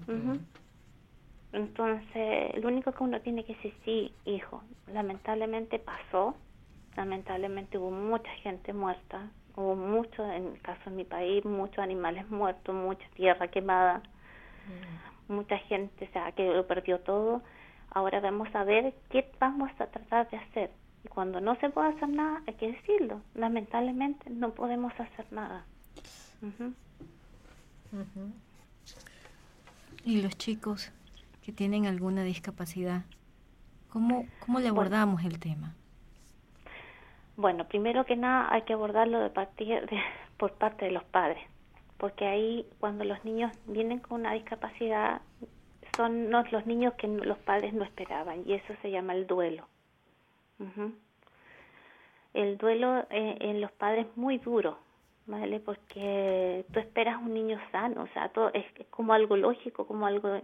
Speaker 7: Entonces, lo único que uno tiene que decir, sí, hijo, lamentablemente pasó, lamentablemente hubo mucha gente muerta, Hubo mucho, en el caso de mi país, muchos animales muertos, mucha tierra quemada, mucha gente, o sea, que lo perdió todo. Ahora vamos a ver qué vamos a tratar de hacer. Y cuando no se puede hacer nada, hay que decirlo. Lamentablemente no podemos hacer nada.
Speaker 6: Y los chicos que tienen alguna discapacidad, ¿cómo le abordamos el tema?
Speaker 7: Bueno, primero que nada hay que abordarlo por parte de los padres, porque ahí cuando los niños vienen con una discapacidad son los niños que los padres no esperaban, y eso se llama el duelo. El duelo en los padres es muy duro, ¿vale? Porque tú esperas un niño sano, o sea, todo es como algo lógico, como algo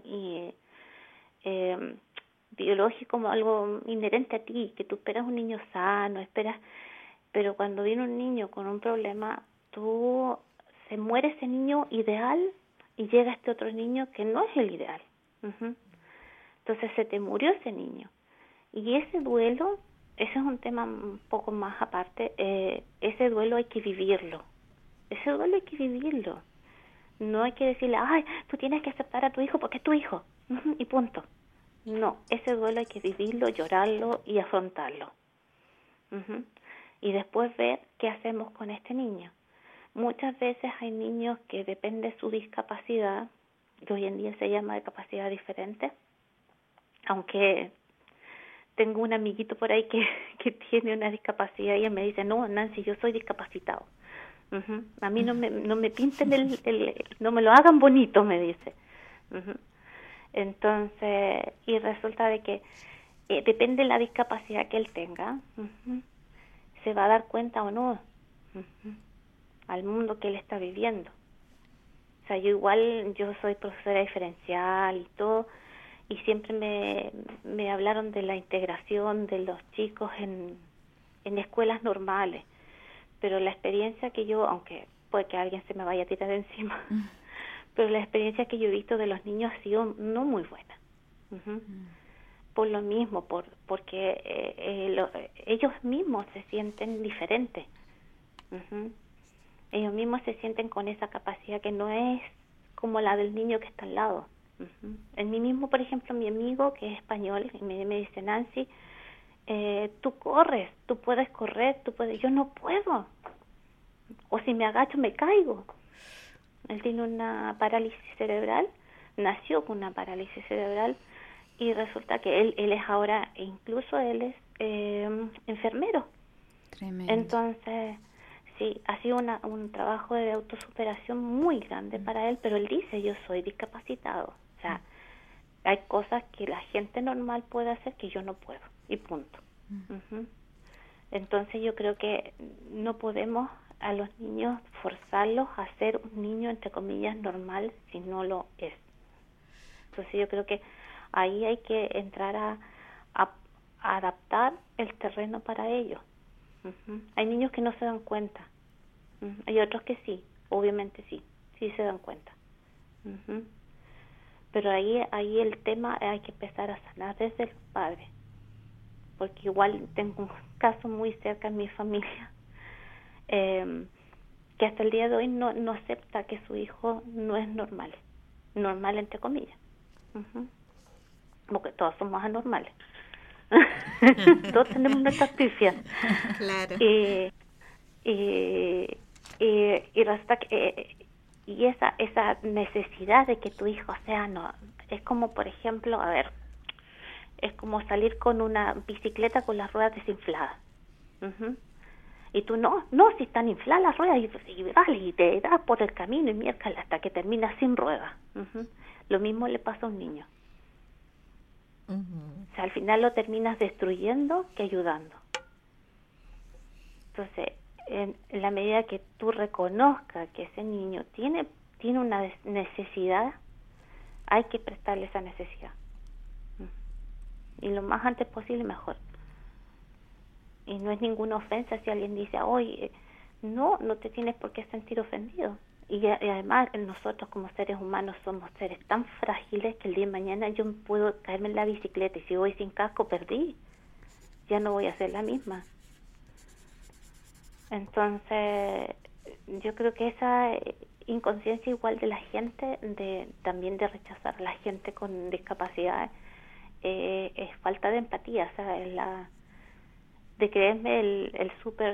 Speaker 7: biológico, como algo inherente a ti, que tú esperas un niño sano, pero cuando viene un niño con un problema, se muere ese niño ideal y llega este otro niño que no es el ideal. Entonces se te murió ese niño, y ese duelo, ese es un tema un poco más aparte. Ese duelo hay que vivirlo. No hay que decirle, ay, tú tienes que aceptar a tu hijo porque es tu hijo, y punto. No, ese duelo hay que vivirlo, llorarlo y afrontarlo. Y después ver qué hacemos con este niño. Muchas veces hay niños que depende de su discapacidad, que hoy en día se llama discapacidad diferente, aunque tengo un amiguito por ahí que tiene una discapacidad y él me dice, no, Nancy, yo soy discapacitado. A mí no me pinten no me lo hagan bonito, me dice. Entonces, y resulta de que depende de la discapacidad que él tenga, se va a dar cuenta o no al mundo que él está viviendo. O sea, yo soy profesora diferencial y todo, y siempre me hablaron de la integración de los chicos en escuelas normales, pero la experiencia que yo, aunque puede que alguien se me vaya a tirar encima, pero la experiencia que yo he visto de los niños ha sido no muy buena. Por lo mismo, porque ellos mismos se sienten diferentes. Ellos mismos se sienten con esa capacidad que no es como la del niño que está al lado. En mí mismo, por ejemplo, mi amigo que es español me dice, Nancy, tú corres, tú puedes correr, yo no puedo, o si me agacho me caigo. Él tiene una parálisis cerebral, nació con una parálisis cerebral, y resulta que él es ahora, incluso él es enfermero. Tremendo. Entonces, sí, ha sido un trabajo de autosuperación muy grande para él, pero él dice, yo soy discapacitado. O sea, hay cosas que la gente normal puede hacer que yo no puedo, y punto. Entonces yo creo que no podemos a los niños forzarlos a ser un niño, entre comillas, normal, si no lo es. Entonces yo creo que ahí hay que entrar a adaptar el terreno para ellos. Hay niños que no se dan cuenta. Hay otros que sí, obviamente sí se dan cuenta. Pero ahí el tema hay que empezar a sanar desde el padre, porque igual tengo un caso muy cerca en mi familia que hasta el día de hoy no acepta que su hijo no es normal entre comillas, porque todos somos anormales. Todos tenemos nuestras pifias. Claro. Y resulta que y esa necesidad de que tu hijo sea, no, es como, por ejemplo, es como salir con una bicicleta con las ruedas desinfladas. Y tú no, si están infladas las ruedas, y te das por el camino y miércoles hasta que terminas sin ruedas. Lo mismo le pasa a un niño. O sea, al final lo terminas destruyendo que ayudando. Entonces, en la medida que tú reconozcas que ese niño tiene una necesidad, hay que prestarle esa necesidad. Y lo más antes posible, mejor. Y no es ninguna ofensa si alguien dice, oye, no te tienes por qué sentir ofendido. Y además nosotros como seres humanos somos seres tan frágiles que el día de mañana yo puedo caerme en la bicicleta y si voy sin casco perdí. Ya no voy a ser la misma. Entonces, yo creo que esa inconsciencia igual de la gente, también de rechazar a la gente con discapacidad, es falta de empatía, o sea, de creerme el súper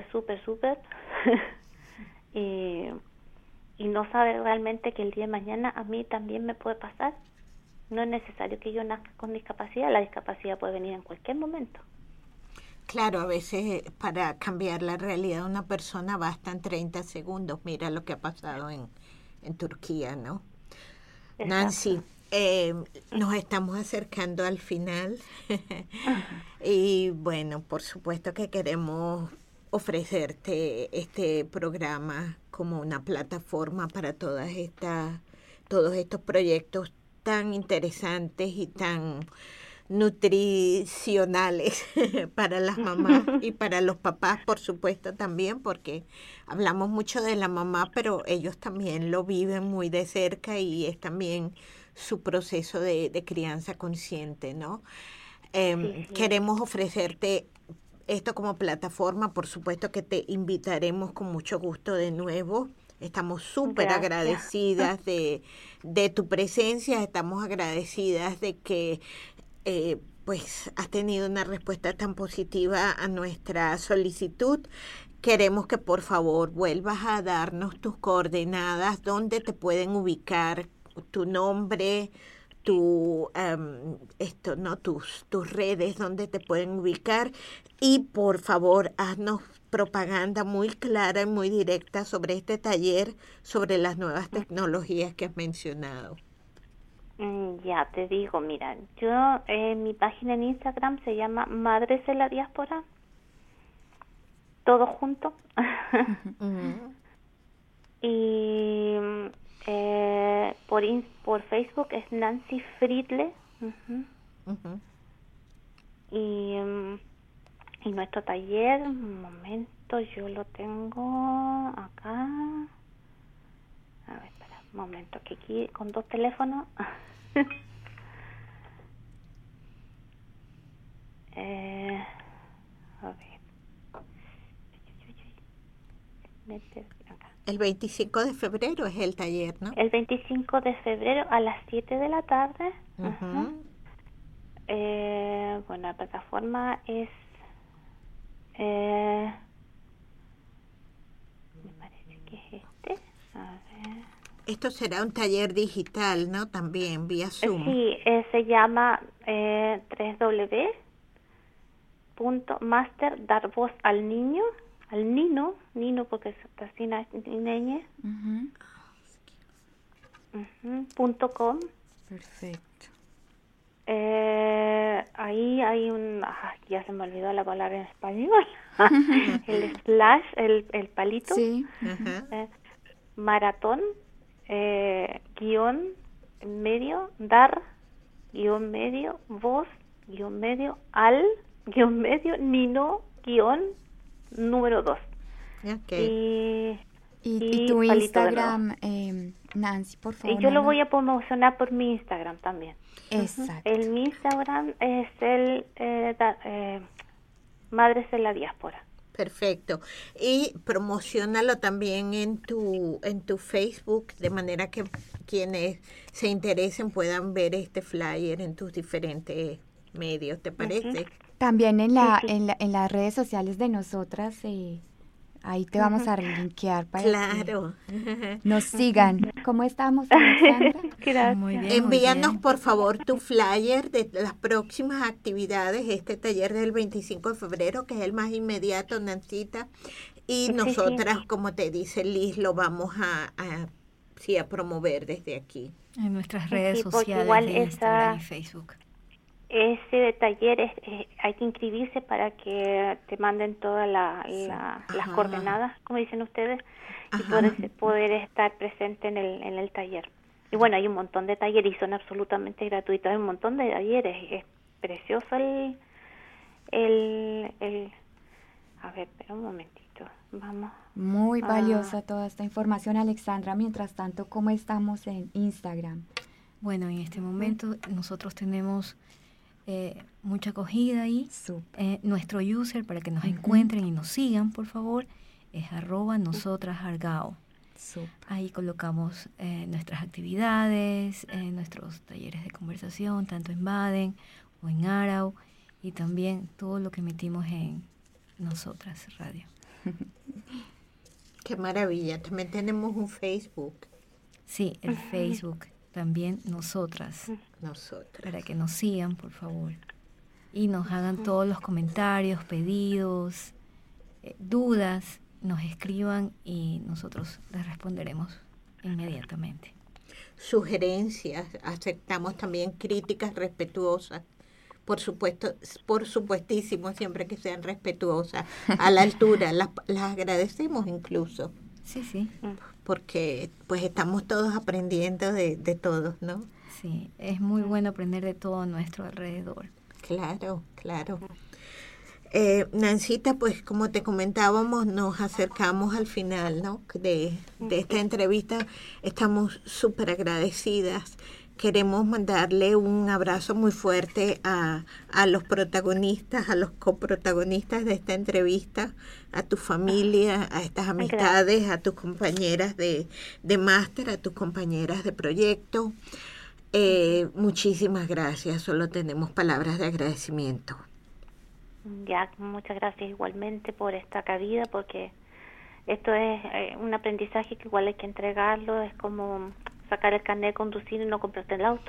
Speaker 7: y no saber realmente que el día de mañana a mí también me puede pasar. No es necesario que yo nazca con discapacidad, la discapacidad puede venir en cualquier momento.
Speaker 4: Claro, a veces para cambiar la realidad de una persona bastan 30 segundos. Mira lo que ha pasado en Turquía, ¿no? Exacto. Nancy, nos estamos acercando al final y bueno, por supuesto que queremos ofrecerte este programa como una plataforma para todos estos proyectos tan interesantes y tan nutricionales para las mamás y para los papás, por supuesto, también, porque hablamos mucho de la mamá, pero ellos también lo viven muy de cerca y es también su proceso de crianza consciente, ¿no? Sí. Queremos ofrecerte esto como plataforma, por supuesto que te invitaremos con mucho gusto de nuevo. Estamos súper agradecidas de tu presencia, estamos agradecidas de que pues has tenido una respuesta tan positiva a nuestra solicitud. Queremos que por favor vuelvas a darnos tus coordenadas, dónde te pueden ubicar, tu nombre, tus redes, dónde te pueden ubicar, y por favor haznos propaganda muy clara y muy directa sobre este taller, sobre las nuevas tecnologías que has mencionado.
Speaker 7: Ya te digo, mira, yo mi página en Instagram se llama Madres de la Diáspora, todo junto. Y por Facebook es Nancy Friedle. Y nuestro taller, un momento, yo lo tengo acá. A ver, espera, un momento, que aquí con 2 teléfonos. A ver. Acá.
Speaker 4: El 25 de febrero es el taller, ¿no?
Speaker 7: El 25 de febrero a las 7 de la tarde. Bueno, la plataforma es... me parece que es este. A ver.
Speaker 4: Esto será un taller digital, ¿no? También, vía Zoom.
Speaker 7: Sí, se llama www.master dar voz al niño, al nino porque es así niñe, .com.
Speaker 5: Perfecto.
Speaker 7: Ahí hay ya se me olvidó la palabra en español. El slash, el palito.
Speaker 5: Sí.
Speaker 7: Maratón, guión medio, dar, guión medio, voz, guión medio, al, guión medio, nino, guión, número 2.
Speaker 4: Okay.
Speaker 5: Y tu Instagram, Nancy, por favor.
Speaker 7: Y yo lo voy a promocionar por mi Instagram también.
Speaker 5: Exacto.
Speaker 7: Mi Instagram es Madres de la Diáspora.
Speaker 4: Perfecto. Y promociónalo también en tu Facebook, de manera que quienes se interesen puedan ver este flyer en tus diferentes medios, ¿te parece?
Speaker 5: También en las redes sociales de nosotras, ahí te vamos a linkear para
Speaker 4: que
Speaker 5: nos sigan. ¿Cómo estamos, Alexandra?
Speaker 7: Gracias.
Speaker 6: Muy bien,
Speaker 4: envíanos por favor tu flyer de las próximas actividades, este taller del 25 de febrero, que es el más inmediato, Nancita, y nosotras, como te dice Liz, lo vamos a promover desde aquí.
Speaker 6: En nuestras redes sociales,
Speaker 7: igual
Speaker 6: de Instagram y Facebook.
Speaker 7: Ese taller hay que inscribirse para que te manden todas las coordenadas, como dicen ustedes, y poder estar presente en el taller. Y bueno, hay un montón de talleres y son absolutamente gratuitos. Hay un montón de talleres. Es precioso a ver, espera un momentito. Vamos.
Speaker 5: Muy valiosa toda esta información, Alexandra. Mientras tanto, ¿cómo estamos en Instagram?
Speaker 6: Bueno, en este momento nosotros tenemos mucha acogida ahí. Nuestro user, para que nos encuentren y nos sigan, por favor, es @nosotras_argao. Ahí colocamos nuestras actividades, nuestros talleres de conversación, tanto en Baden o en Arau, y también todo lo que emitimos en Nosotras Radio.
Speaker 4: Qué maravilla. También tenemos un Facebook.
Speaker 6: Sí, el Facebook, también Nosotras. Para que nos sigan, por favor. Y nos hagan todos los comentarios, pedidos, dudas, nos escriban y nosotros les responderemos inmediatamente.
Speaker 4: Sugerencias, aceptamos también críticas respetuosas. Por supuesto, por supuestísimo, siempre que sean respetuosas, a la altura, las agradecemos incluso.
Speaker 6: Sí.
Speaker 4: Porque pues estamos todos aprendiendo de todos, ¿no?
Speaker 6: Sí, es muy bueno aprender de todo a nuestro alrededor.
Speaker 4: Claro. Nancita, pues como te comentábamos, nos acercamos al final, ¿no? de esta entrevista. Estamos súper agradecidas. Queremos mandarle un abrazo muy fuerte a los protagonistas, a los coprotagonistas de esta entrevista, a tu familia, a estas amistades, a tus compañeras de máster, a tus compañeras de proyecto. Muchísimas gracias, solo tenemos palabras de agradecimiento.
Speaker 7: Ya, muchas gracias igualmente por esta cabida, porque esto es un aprendizaje que igual hay que entregarlo, es como sacar el carnet de conducir y no comprarte el auto.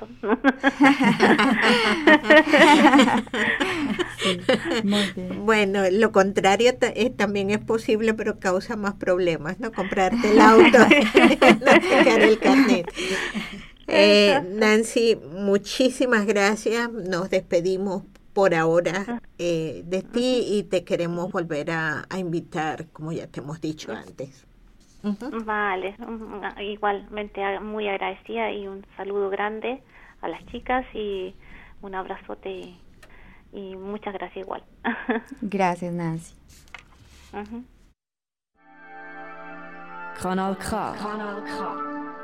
Speaker 5: Sí, muy bien.
Speaker 4: Bueno, lo contrario también es posible, pero causa más problemas, ¿no? Comprarte el auto, no sacar el carnet. Nancy, muchísimas gracias. Nos despedimos por ahora de ti y te queremos volver a invitar, como ya te hemos dicho antes.
Speaker 7: Vale, igualmente muy agradecida y un saludo grande a las chicas y un abrazote y muchas gracias igual.
Speaker 5: Gracias, Nancy.
Speaker 1: Kanal K.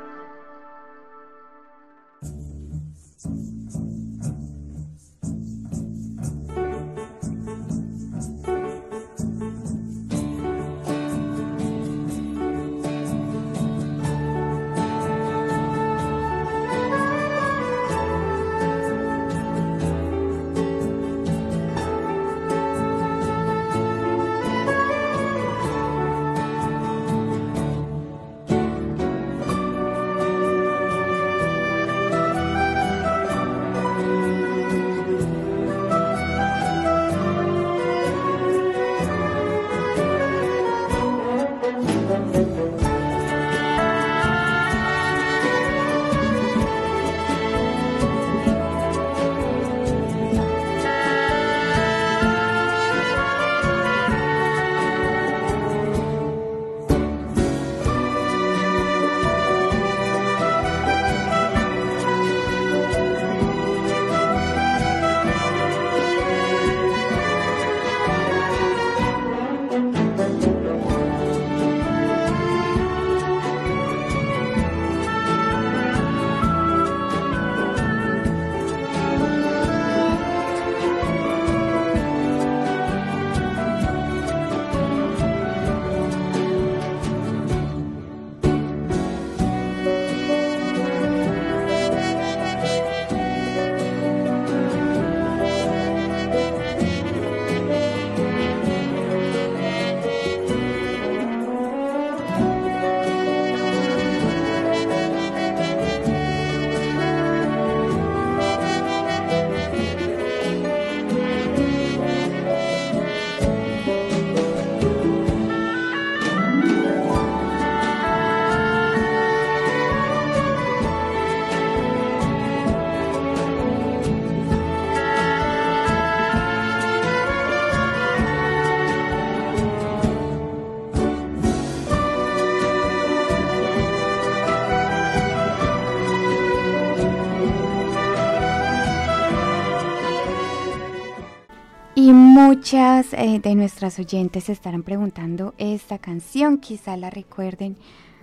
Speaker 5: Y muchas de nuestras oyentes se estarán preguntando, esta canción quizá la recuerden,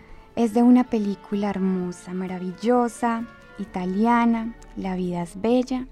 Speaker 5: es de una película hermosa, maravillosa, italiana, La vida es bella.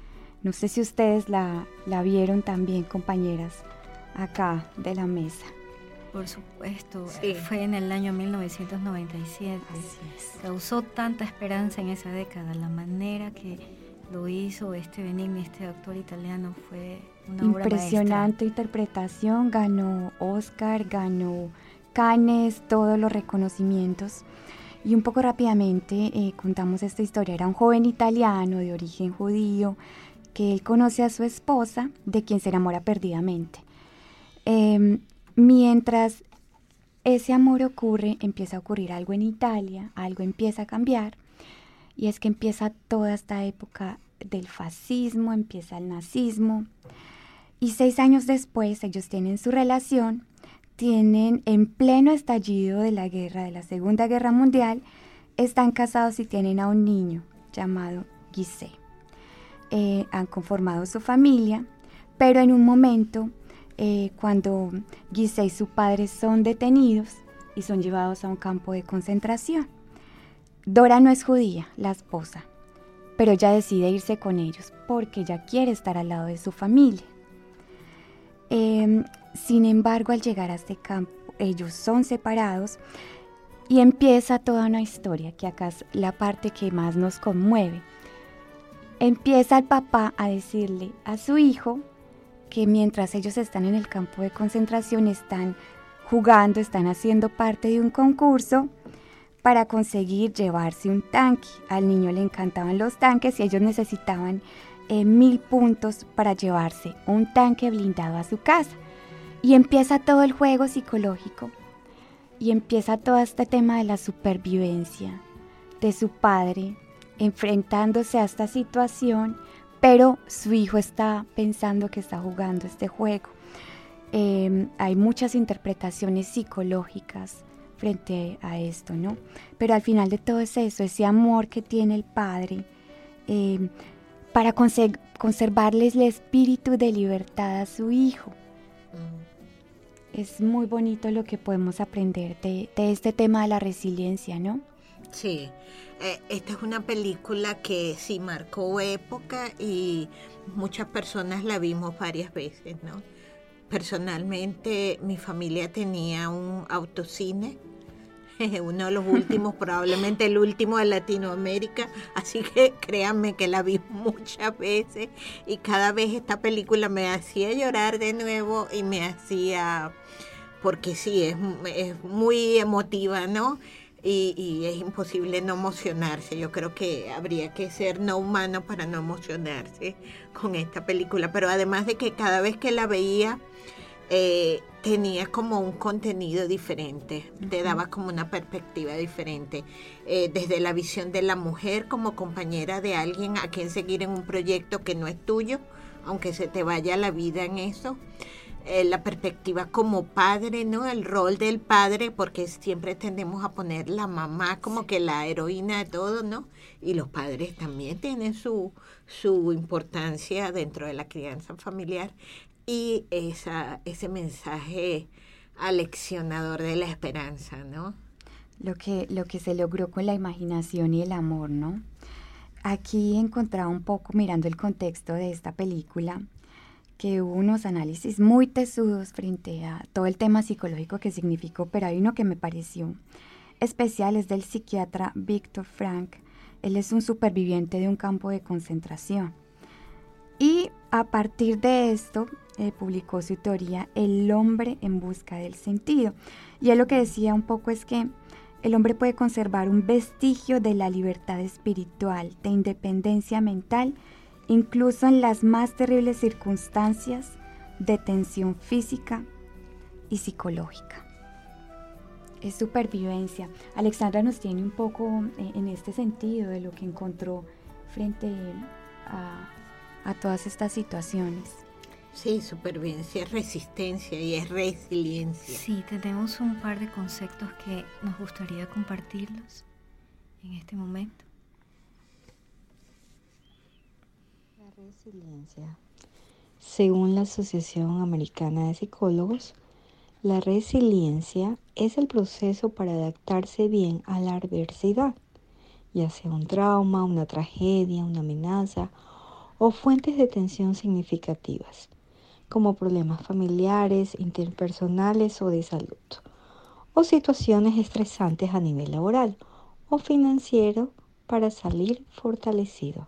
Speaker 5: No sé si ustedes la vieron también, compañeras, acá de la mesa.
Speaker 6: Por supuesto,
Speaker 4: Sí.
Speaker 6: fue en el año 1997. Causó tanta esperanza en esa década. La manera que lo hizo Benigni, este actor italiano, fue una obra maestra.
Speaker 5: Impresionante interpretación, ganó Oscar, ganó Cannes, todos los reconocimientos. Y un poco rápidamente contamos esta historia. Era un joven italiano de origen judío que él conoce a su esposa, de quien se enamora perdidamente. Mientras ese amor ocurre, empieza a ocurrir algo en Italia, algo empieza a cambiar, y es que empieza toda esta época del fascismo, empieza el nazismo, y 6 años después ellos tienen su relación, tienen en pleno estallido de la guerra, de la Segunda Guerra Mundial, están casados y tienen a un niño llamado Giselle. Han conformado su familia, pero en un momento, cuando Giselle y su padre son detenidos y son llevados a un campo de concentración. Dora no es judía, la esposa, pero ella decide irse con ellos porque ella quiere estar al lado de su familia. Sin embargo, al llegar a este campo, ellos son separados y empieza toda una historia, que acá es la parte que más nos conmueve. Empieza el papá a decirle a su hijo que mientras ellos están en el campo de concentración, están jugando, están haciendo parte de un concurso para conseguir llevarse un tanque. Al niño le encantaban los tanques y ellos necesitaban 1000 puntos para llevarse un tanque blindado a su casa. Y empieza todo el juego psicológico y empieza todo este tema de la supervivencia de su padre enfrentándose a esta situación, pero su hijo está pensando que está jugando este juego. Hay muchas interpretaciones psicológicas frente a esto, ¿no? Pero al final de todo es eso, ese amor que tiene el padre para conservarles el espíritu de libertad a su hijo. Es muy bonito lo que podemos aprender de este tema de la resiliencia, ¿no?
Speaker 4: Sí, esta es una película que sí marcó época y muchas personas la vimos varias veces, ¿no? Personalmente, mi familia tenía un autocine, uno de los últimos, probablemente el último de Latinoamérica, así que créanme que la vi muchas veces y cada vez esta película me hacía llorar de nuevo y me hacía, porque sí, es muy emotiva, ¿no? Y es imposible no emocionarse. Yo creo que habría que ser no humano para no emocionarse con esta película. Pero además de que cada vez que la veía tenía como un contenido diferente, te daba como una perspectiva diferente, desde la visión de la mujer como compañera de alguien a quien seguir en un proyecto que no es tuyo, aunque se te vaya la vida en eso. La perspectiva como padre, ¿no? El rol del padre, porque siempre tendemos a poner la mamá como que la heroína de todo, ¿no? Y los padres también tienen su importancia dentro de la crianza familiar. Y ese mensaje aleccionador de la esperanza, ¿no?
Speaker 5: Lo que se logró con la imaginación y el amor, ¿no? Aquí encontraba un poco, mirando el contexto de esta película, que hubo unos análisis muy tesudos frente a todo el tema psicológico que significó, pero hay uno que me pareció especial, es del psiquiatra Viktor Frankl. Él es un superviviente de un campo de concentración. Y a partir de esto, publicó su teoría El hombre en busca del sentido. Y él lo que decía un poco es que el hombre puede conservar un vestigio de la libertad espiritual, de independencia mental, incluso en las más terribles circunstancias de tensión física y psicológica. Es supervivencia. Alexandra nos tiene un poco en este sentido de lo que encontró frente a todas estas situaciones.
Speaker 4: Sí, supervivencia es resistencia y es resiliencia.
Speaker 6: Sí, tenemos un par de conceptos que nos gustaría compartirlos en este momento.
Speaker 8: Resiliencia. Según la Asociación Americana de Psicólogos, la resiliencia es el proceso para adaptarse bien a la adversidad, ya sea un trauma, una tragedia, una amenaza o fuentes de tensión significativas, como problemas familiares, interpersonales o de salud, o situaciones estresantes a nivel laboral o financiero para salir fortalecido.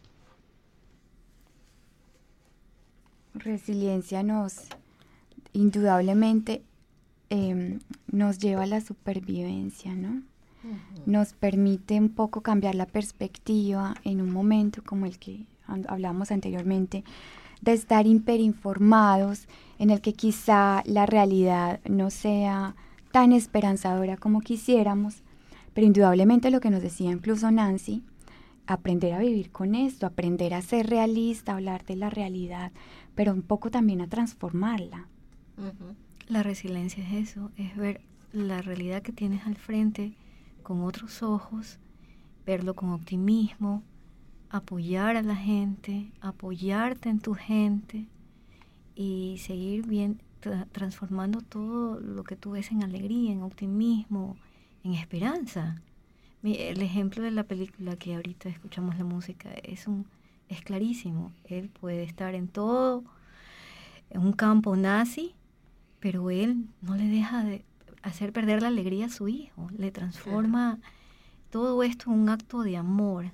Speaker 5: Resiliencia indudablemente nos lleva a la supervivencia, ¿no? Nos permite un poco cambiar la perspectiva en un momento como el que hablamos anteriormente, de estar hiperinformados, en el que quizá la realidad no sea tan esperanzadora como quisiéramos, pero indudablemente lo que nos decía incluso Nancy, aprender a vivir con esto, aprender a ser realista, hablar de la realidad, pero un poco también a transformarla.
Speaker 6: La resiliencia es eso, es ver la realidad que tienes al frente con otros ojos, verlo con optimismo, apoyar a la gente, apoyarte en tu gente y seguir bien transformando todo lo que tú ves en alegría, en optimismo, en esperanza. El ejemplo de la película que ahorita escuchamos la música es clarísimo. Él puede estar en un campo nazi, pero él no le deja de hacer perder la alegría a su hijo. Le transforma todo esto en un acto de amor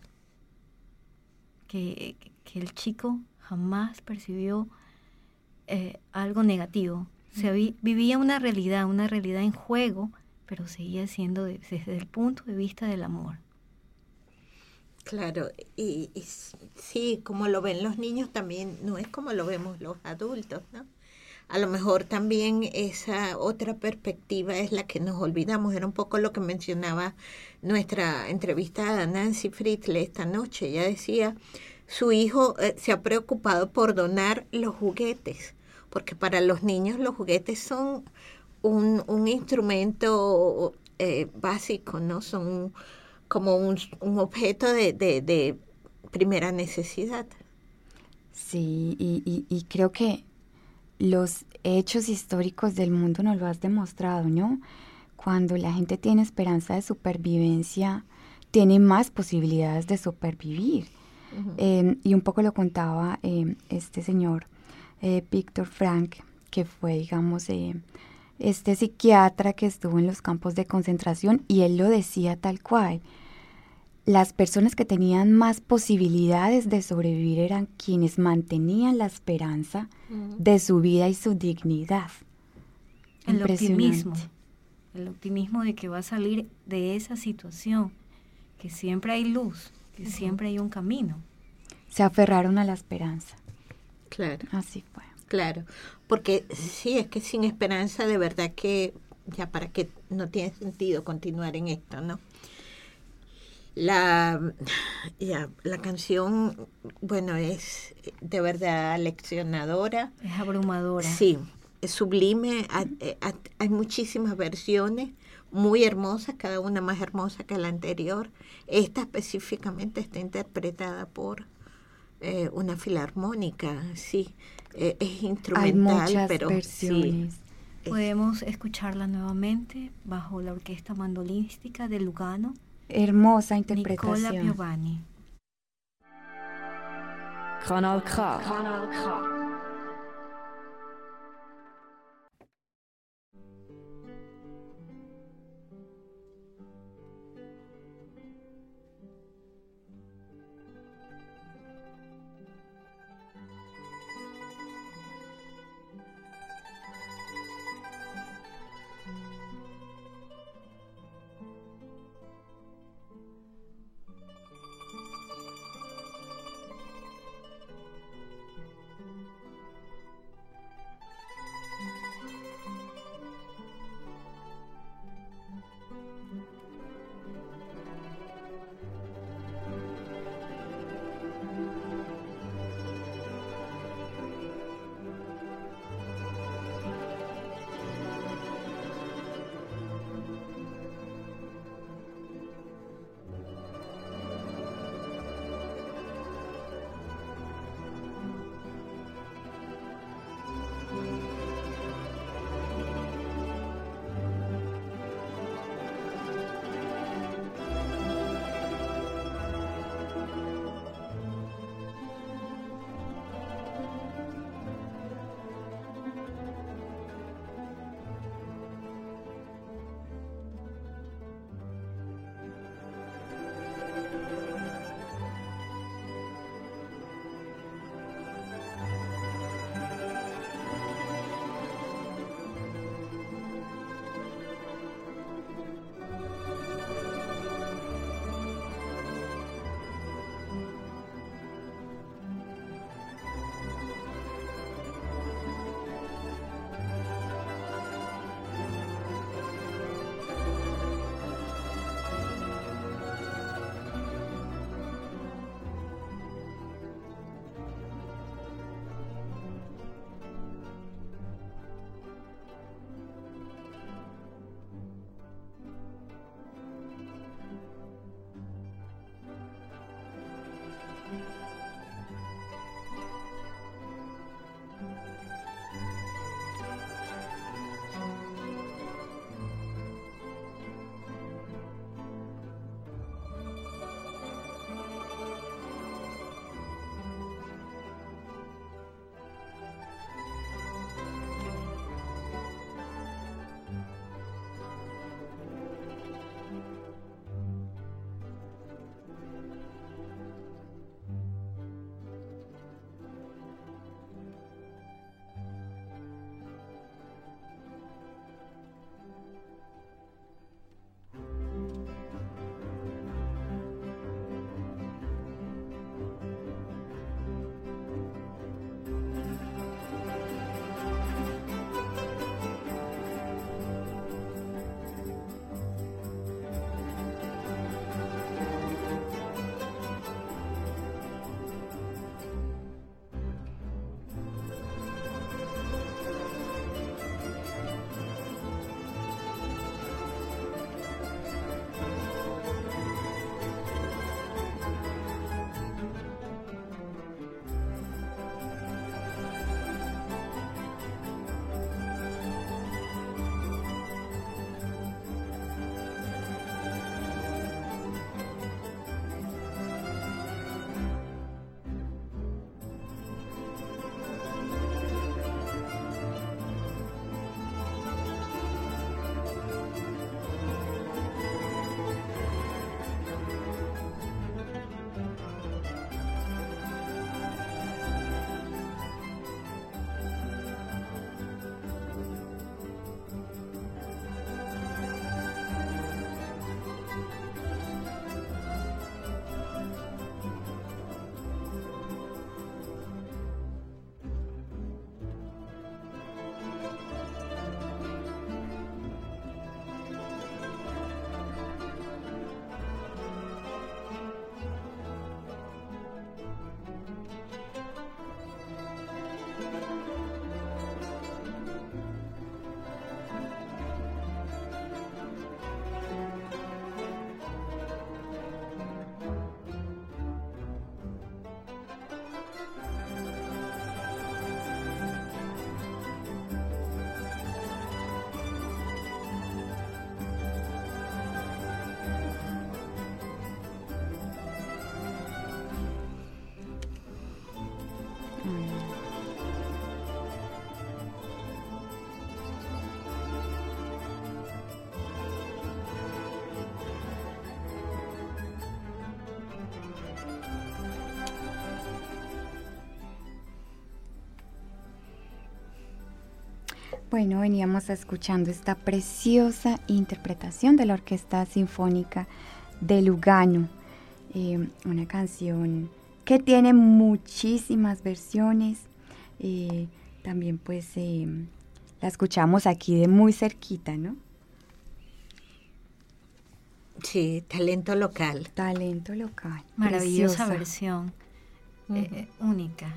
Speaker 6: que el chico jamás percibió algo negativo. Vivía una realidad en juego, pero seguía siendo desde el punto de vista del amor.
Speaker 4: Claro, y sí, como lo ven los niños también no es como lo vemos los adultos, ¿no? A lo mejor también esa otra perspectiva es la que nos olvidamos. Era un poco lo que mencionaba nuestra entrevistada Nancy Fritzle esta noche. Ella decía, su hijo se ha preocupado por donar los juguetes, porque para los niños los juguetes son un instrumento básico, ¿no? Son como un objeto de primera necesidad.
Speaker 5: Sí, y creo que los hechos históricos del mundo nos lo has demostrado, ¿no? Cuando la gente tiene esperanza de supervivencia, tiene más posibilidades de supervivir. Y un poco lo contaba este señor, Viktor Frank, que fue, digamos, este psiquiatra que estuvo en los campos de concentración, y él lo decía tal cual. Las personas que tenían más posibilidades de sobrevivir eran quienes mantenían la esperanza de su vida y su dignidad.
Speaker 6: El optimismo de que va a salir de esa situación, que siempre hay luz, que siempre hay un camino.
Speaker 5: Se aferraron a la esperanza.
Speaker 4: Claro.
Speaker 5: Así fue.
Speaker 4: Claro, porque sí, es que sin esperanza de verdad que ya para qué no tiene sentido continuar en esto, ¿no? La canción, bueno, es de verdad leccionadora.
Speaker 6: Es abrumadora.
Speaker 4: Sí, es sublime. Hay muchísimas versiones muy hermosas, cada una más hermosa que la anterior. Esta específicamente está interpretada por una filarmónica, sí. Es instrumental,
Speaker 5: hay muchas
Speaker 4: pero
Speaker 5: versiones.
Speaker 4: Sí.
Speaker 6: Podemos escucharla nuevamente bajo la orquesta mandolística de Lugano.
Speaker 5: Hermosa interpretación.
Speaker 6: Nicola Piovani.
Speaker 1: Kanal K.
Speaker 5: Bueno, veníamos escuchando esta preciosa interpretación de la Orquesta Sinfónica de Lugano, una canción que tiene muchísimas versiones. También pues la escuchamos aquí de muy cerquita, ¿no?
Speaker 4: Sí, talento local.
Speaker 5: Talento local.
Speaker 6: Maravillosa
Speaker 5: Preciosa
Speaker 6: versión, única.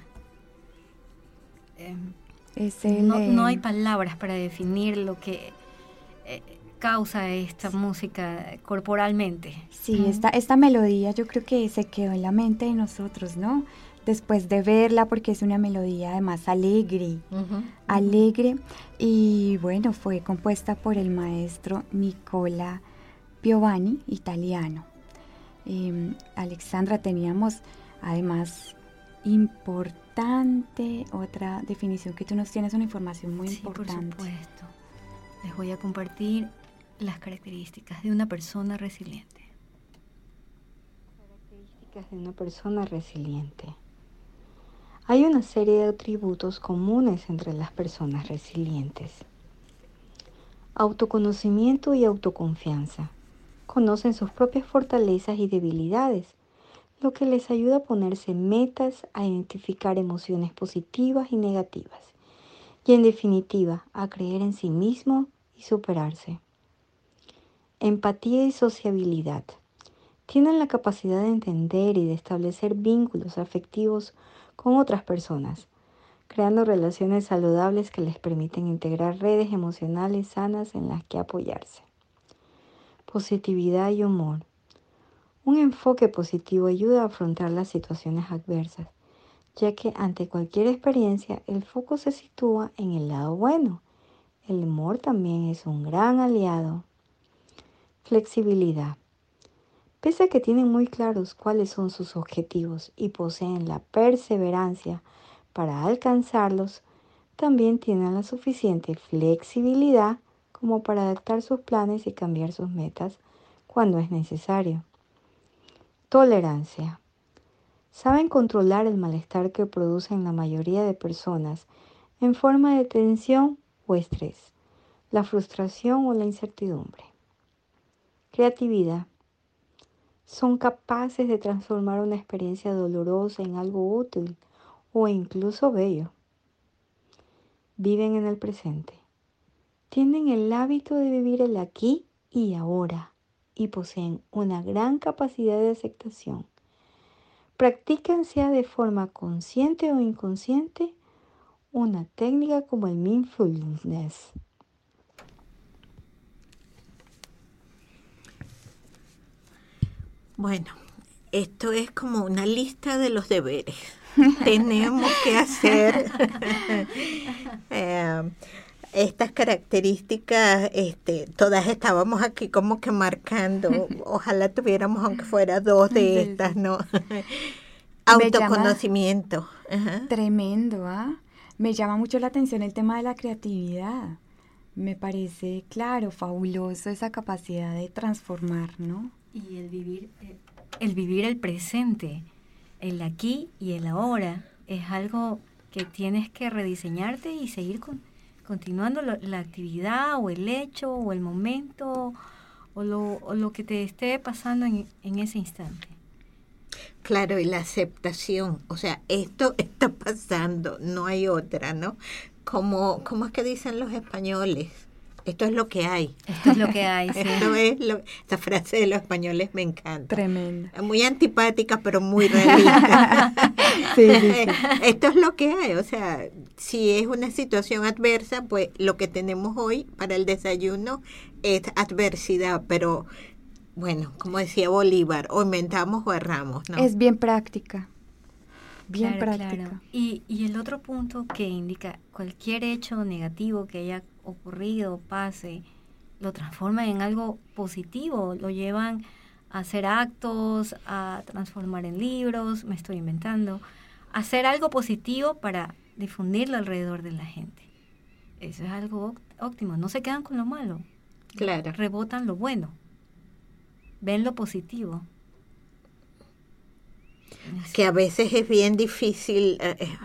Speaker 5: No
Speaker 6: hay palabras para definir lo que causa esta música corporalmente.
Speaker 5: Sí, esta melodía yo creo que se quedó en la mente de nosotros, ¿no? Después de verla, porque es una melodía además alegre, alegre, y bueno, fue compuesta por el maestro Nicola Piovani, italiano. Alexandra, teníamos además importante otra definición que tú nos tienes, una información muy importante.
Speaker 6: Por supuesto. Les voy a compartir las características de una persona resiliente.
Speaker 8: Características de una persona resiliente. Hay una serie de atributos comunes entre las personas resilientes. Autoconocimiento y autoconfianza. Conocen sus propias fortalezas y debilidades, lo que les ayuda a ponerse metas, a identificar emociones positivas y negativas, y en definitiva, a creer en sí mismo y superarse. Empatía y sociabilidad. Tienen la capacidad de entender y de establecer vínculos afectivos con otras personas, creando relaciones saludables que les permiten integrar redes emocionales sanas en las que apoyarse. Positividad y humor. Un enfoque positivo ayuda a afrontar las situaciones adversas, ya que ante cualquier experiencia el foco se sitúa en el lado bueno. El humor también es un gran aliado. Flexibilidad. Pese a que tienen muy claros cuáles son sus objetivos y poseen la perseverancia para alcanzarlos, también tienen la suficiente flexibilidad como para adaptar sus planes y cambiar sus metas cuando es necesario. Tolerancia. Saben controlar el malestar que producen la mayoría de personas en forma de tensión o estrés, la frustración o la incertidumbre. Creatividad. Son capaces de transformar una experiencia dolorosa en algo útil o incluso bello. Viven en el presente. Tienen el hábito de vivir el aquí y ahora y poseen una gran capacidad de aceptación. Practican, sea de forma consciente o inconsciente, una técnica como el mindfulness.
Speaker 4: Bueno, esto es como una lista de los deberes. Tenemos que hacer estas características, todas estábamos aquí como que marcando, ojalá tuviéramos aunque fuera 2 de estas, ¿no? Autoconocimiento.
Speaker 5: Tremendo, ¿ah? Me llama mucho la atención el tema de la creatividad. Me parece, claro, fabuloso esa capacidad de transformar, ¿no?
Speaker 6: Y el vivir el presente, el aquí y el ahora, es algo que tienes que rediseñarte y seguir continuando la actividad o el hecho o el momento o lo que te esté pasando en ese instante.
Speaker 4: Claro, y la aceptación, o sea, esto está pasando, no hay otra, ¿no? ¿Cómo es que dicen los españoles? Esto es lo que hay.
Speaker 6: Esto es lo que hay, sí.
Speaker 4: Esta frase de los españoles me encanta.
Speaker 5: Tremenda.
Speaker 4: Muy antipática, pero muy realista.
Speaker 5: Sí.
Speaker 4: Esto es lo que hay. O sea, si es una situación adversa, pues lo que tenemos hoy para el desayuno es adversidad. Pero, bueno, como decía Bolívar, o inventamos o erramos, ¿no?
Speaker 5: Es bien práctica. Bien práctica.
Speaker 6: Claro. Y el otro punto que indica cualquier hecho negativo que haya ocurrido, pase, lo transforman en algo positivo, lo llevan a hacer actos, a transformar en libros, me estoy inventando, hacer algo positivo para difundirlo alrededor de la gente. Eso es algo óptimo, no se quedan con lo malo,
Speaker 4: claro,
Speaker 6: rebotan lo bueno, ven lo positivo.
Speaker 4: Que a veces es bien difícil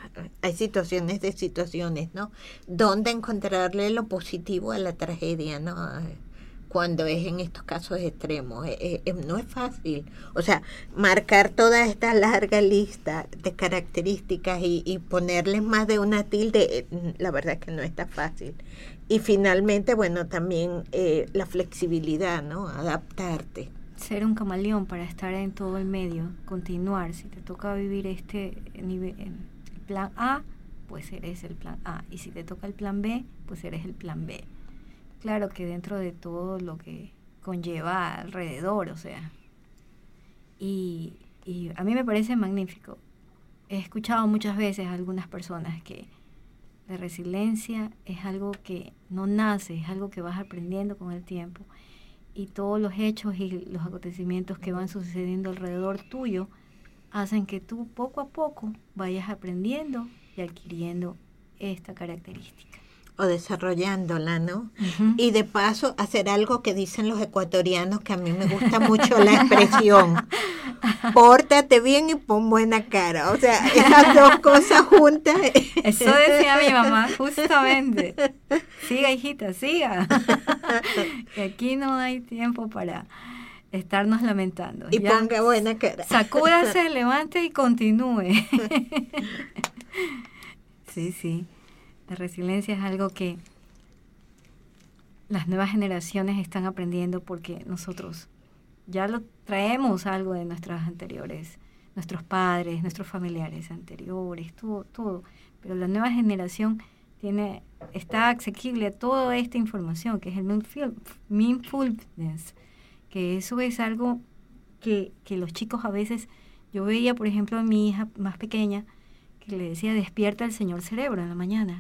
Speaker 4: hay situaciones de situaciones, ¿no? Donde encontrarle lo positivo a la tragedia, ¿no? Cuando es en estos casos extremos. No es fácil. O sea, marcar toda esta larga lista de características y ponerles más de una tilde, la verdad es que no está fácil. Y finalmente, bueno, también la flexibilidad, ¿no? Adaptarte.
Speaker 6: Ser un camaleón para estar en todo el medio, continuar. Si te toca vivir este nivel, el plan A, pues eres el plan A. Y si te toca el plan B, pues eres el plan B. Claro que dentro de todo lo que conlleva alrededor, o sea. Y a mí me parece magnífico. He escuchado muchas veces a algunas personas que la resiliencia es algo que no nace, es algo que vas aprendiendo con el tiempo. Y todos los hechos y los acontecimientos que van sucediendo alrededor tuyo hacen que tú poco a poco vayas aprendiendo y adquiriendo esta característica.
Speaker 4: O desarrollándola, ¿no?
Speaker 6: Uh-huh.
Speaker 4: Y de paso hacer algo que dicen los ecuatorianos, que a mí me gusta mucho la expresión: pórtate bien y pon buena cara. O sea, esas dos cosas juntas.
Speaker 6: Eso decía mi mamá justamente. Siga, hijita, siga. Y aquí no hay tiempo para estarnos lamentando.
Speaker 4: Y ya, ponga buena cara.
Speaker 6: Sacúdase, levante y continúe. Sí. La resiliencia es algo que las nuevas generaciones están aprendiendo porque nosotros ya lo traemos algo de nuestras anteriores, nuestros padres, nuestros familiares anteriores, todo. Pero la nueva generación está asequible a toda esta información, que es el mindfulness, que eso es algo que los chicos a veces, yo veía por ejemplo a mi hija más pequeña, que le decía: despierta el señor cerebro en la mañana.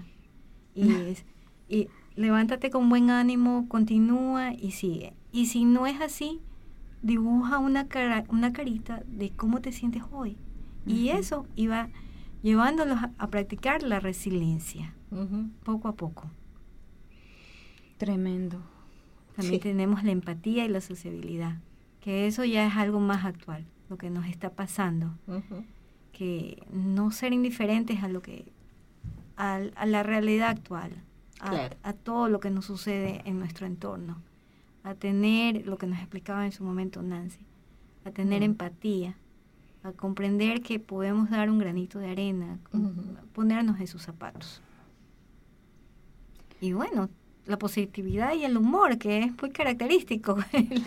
Speaker 6: Y levántate con buen ánimo, continúa y sigue. Y si no es así, dibuja una carita de cómo te sientes hoy. Uh-huh. Y eso iba llevándolos a practicar la resiliencia, uh-huh, poco a poco.
Speaker 5: Tremendo.
Speaker 6: También tenemos la empatía y la sociabilidad, que eso ya es algo más actual, lo que nos está pasando. Uh-huh. Que no ser indiferentes a lo que a la realidad actual, claro, a todo lo que nos sucede en nuestro entorno, a tener lo que nos explicaba en su momento Nancy, a tener empatía, a comprender que podemos dar un granito de arena, ponernos en sus zapatos. Y bueno, la positividad y el humor, que es muy característico.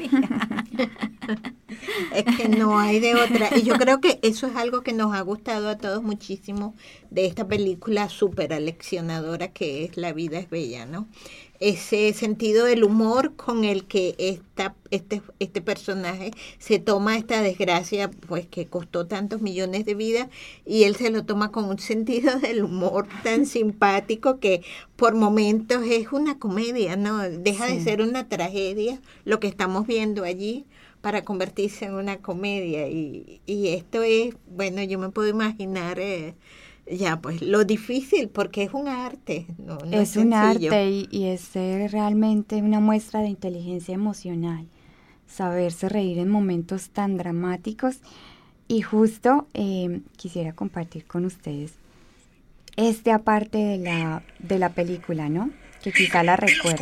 Speaker 4: Es que no hay de otra. Y yo creo que eso es algo que nos ha gustado a todos muchísimo de esta película súper aleccionadora que es La vida es bella, ¿no? Ese sentido del humor con el que este personaje se toma esta desgracia, pues que costó tantos millones de vidas, y él se lo toma con un sentido del humor tan simpático que por momentos es una comedia, ¿no? Deja de ser una tragedia lo que estamos viendo allí para convertirse en una comedia. Y esto es, bueno, yo me puedo imaginar ya, pues lo difícil, porque es un arte, no es
Speaker 5: un arte y es realmente una muestra de inteligencia emocional, saberse reír en momentos tan dramáticos. Y justo quisiera compartir con ustedes esta parte de la película, ¿no? Que quizá la recuerden.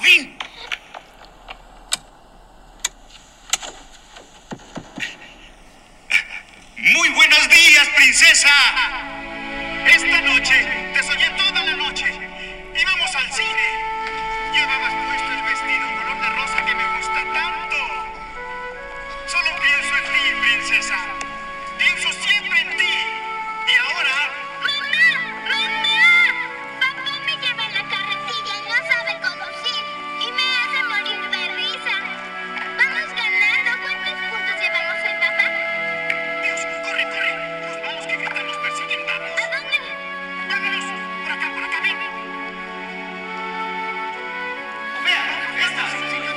Speaker 9: Muy buenos días, princesa. Esta noche te soñé toda la noche. Íbamos al cine. Llevabas puesto el vestido color de rosa que me gusta tanto. Solo pienso en ti, princesa. Pienso siempre en ti. Y ahora...
Speaker 10: ¡Mamá! Papá me lleva en la carretilla y no sabe conducir. Y me hace morir de risa. Vamos ganando. ¿Cuántos puntos llevamos hoy, papá?
Speaker 9: Dios, corre. Nos vamos, que Greta nos persiguen. Vamos.
Speaker 10: ¿A dónde?
Speaker 9: Vámonos. Por acá, ven. Vea, esta.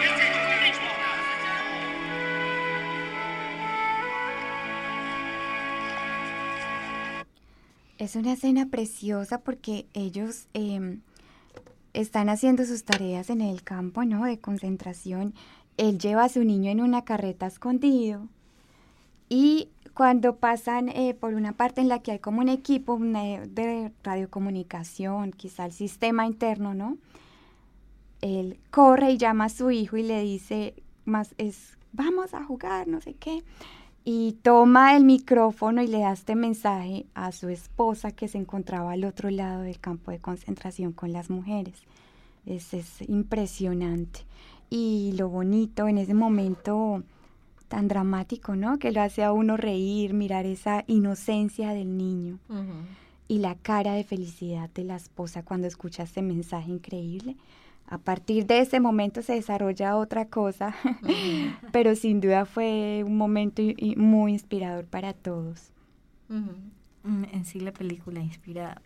Speaker 5: Es una escena preciosa porque ellos están haciendo sus tareas en el campo, ¿no? De concentración. Él lleva a su niño en una carreta escondido y cuando pasan por una parte en la que hay como un equipo de radiocomunicación, quizá el sistema interno, ¿no? Él corre y llama a su hijo y le dice, vamos a jugar, no sé qué. Y toma el micrófono y le da este mensaje a su esposa que se encontraba al otro lado del campo de concentración con las mujeres. Es impresionante. Y lo bonito en ese momento tan dramático, ¿no? Que lo hace a uno reír, mirar esa inocencia del niño. Uh-huh. Y la cara de felicidad de la esposa cuando escucha este mensaje increíble. A partir de ese momento se desarrolla otra cosa, uh-huh. Pero sin duda fue un momento muy inspirador para todos.
Speaker 6: Uh-huh. En sí la película inspira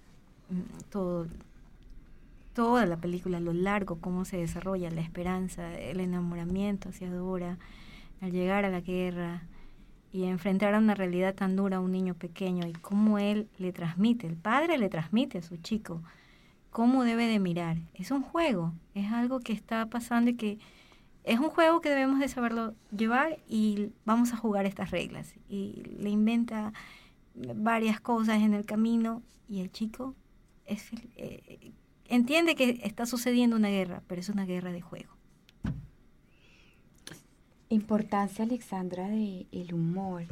Speaker 6: toda la película, lo largo, cómo se desarrolla, la esperanza, el enamoramiento hacia Dora, al llegar a la guerra y enfrentar a una realidad tan dura a un niño pequeño y cómo el padre le transmite a su chico cómo debe de mirar. Es un juego, es algo que está pasando y que es un juego que debemos de saberlo llevar y vamos a jugar estas reglas. Y le inventa varias cosas en el camino y el chico entiende que está sucediendo una guerra, pero es una guerra de juego.
Speaker 5: Importancia, Alexandra, de el humor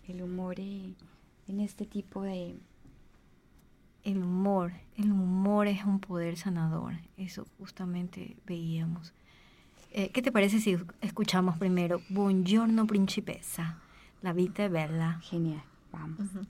Speaker 5: en este tipo de...
Speaker 6: El humor es un poder sanador, eso justamente veíamos. ¿Qué te parece si escuchamos primero Buongiorno Principessa, La Vita è Bella?
Speaker 5: Genial, vamos. Uh-huh.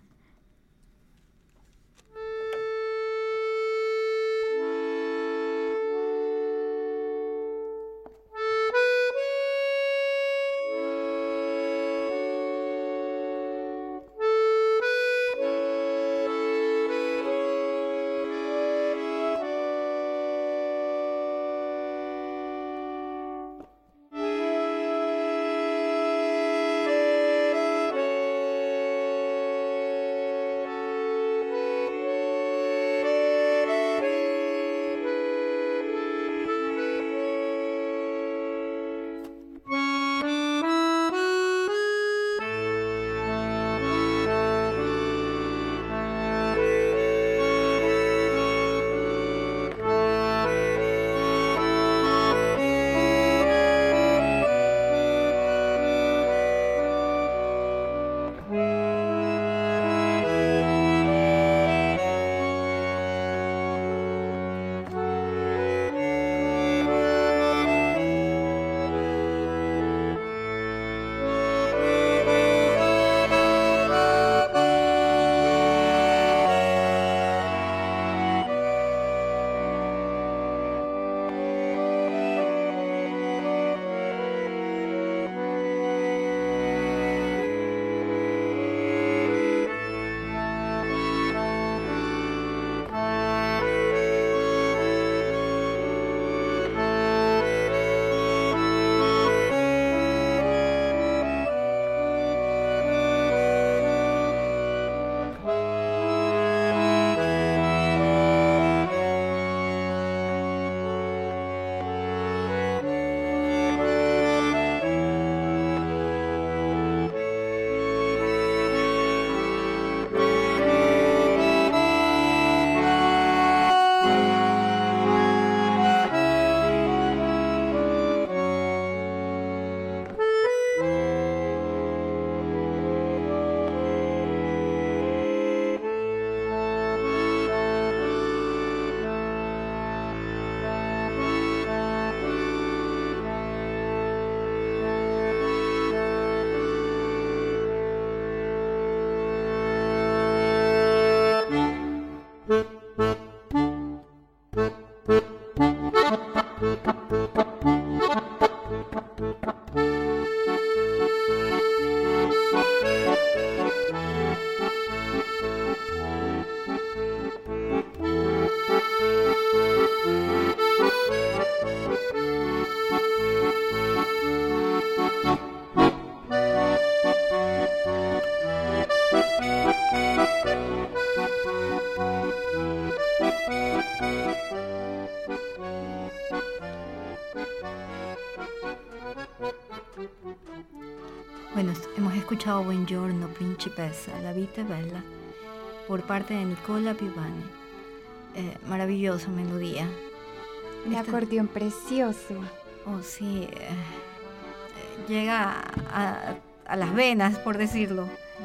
Speaker 6: Bueno, hemos escuchado Buongiorno Principessa, La Vita è Bella, por parte de Nicola Piovani. Maravillosa melodía.
Speaker 5: Un acordeón precioso.
Speaker 6: Oh, sí. Llega a las venas, por decirlo.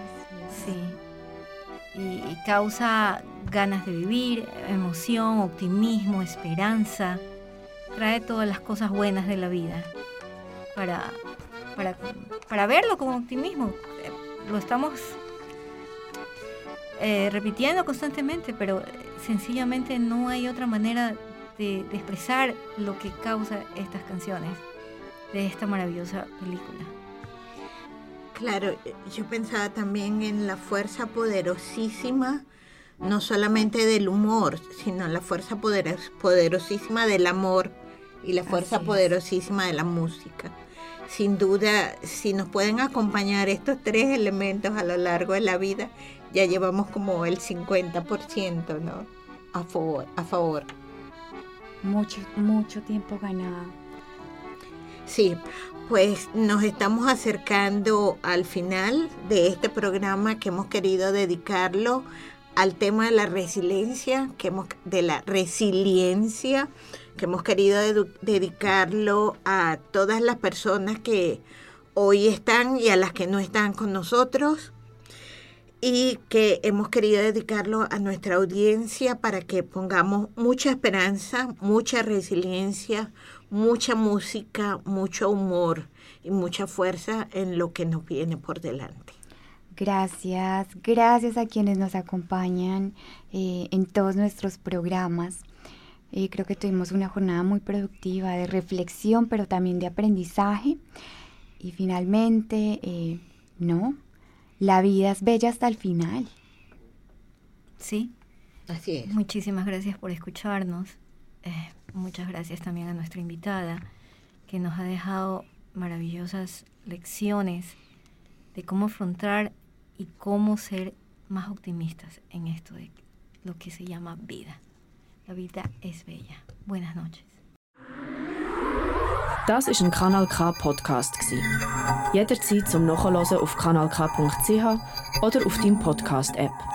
Speaker 6: Sí. Y causa ganas de vivir, emoción, optimismo, esperanza. Trae todas las cosas buenas de la vida para verlo con optimismo. Lo estamos repitiendo constantemente, pero sencillamente no hay otra manera de expresar lo que causa estas canciones de esta maravillosa película.
Speaker 4: Claro, yo pensaba también en la fuerza poderosísima, no solamente del humor, sino la fuerza poderosísima del amor y la fuerza poderosísima de la música. Sin duda, si nos pueden acompañar estos tres elementos a lo largo de la vida, ya llevamos como el 50%, ¿no? A favor.
Speaker 5: Mucho tiempo ganado.
Speaker 4: Sí, pues nos estamos acercando al final de este programa que hemos querido dedicarlo al tema de la resiliencia, que hemos querido dedicarlo a todas las personas que hoy están y a las que no están con nosotros, y que hemos querido dedicarlo a nuestra audiencia para que pongamos mucha esperanza, mucha resiliencia, mucha música, mucho humor y mucha fuerza en lo que nos viene por delante.
Speaker 5: Gracias a quienes nos acompañan en todos nuestros programas. Creo que tuvimos una jornada muy productiva de reflexión, pero también de aprendizaje. Y finalmente, la vida es bella hasta el final.
Speaker 6: Sí.
Speaker 4: Así es.
Speaker 6: Muchísimas gracias por escucharnos. Muchas gracias también a nuestra invitada, que nos ha dejado maravillosas lecciones de cómo afrontar y cómo ser más optimistas en esto de lo que se llama vida. La vida ist bella. Buenas noches.
Speaker 1: Das war ein Kanal K Podcast. Jederzeit zum Nachhören auf kanalk.ch oder auf deinem Podcast-App.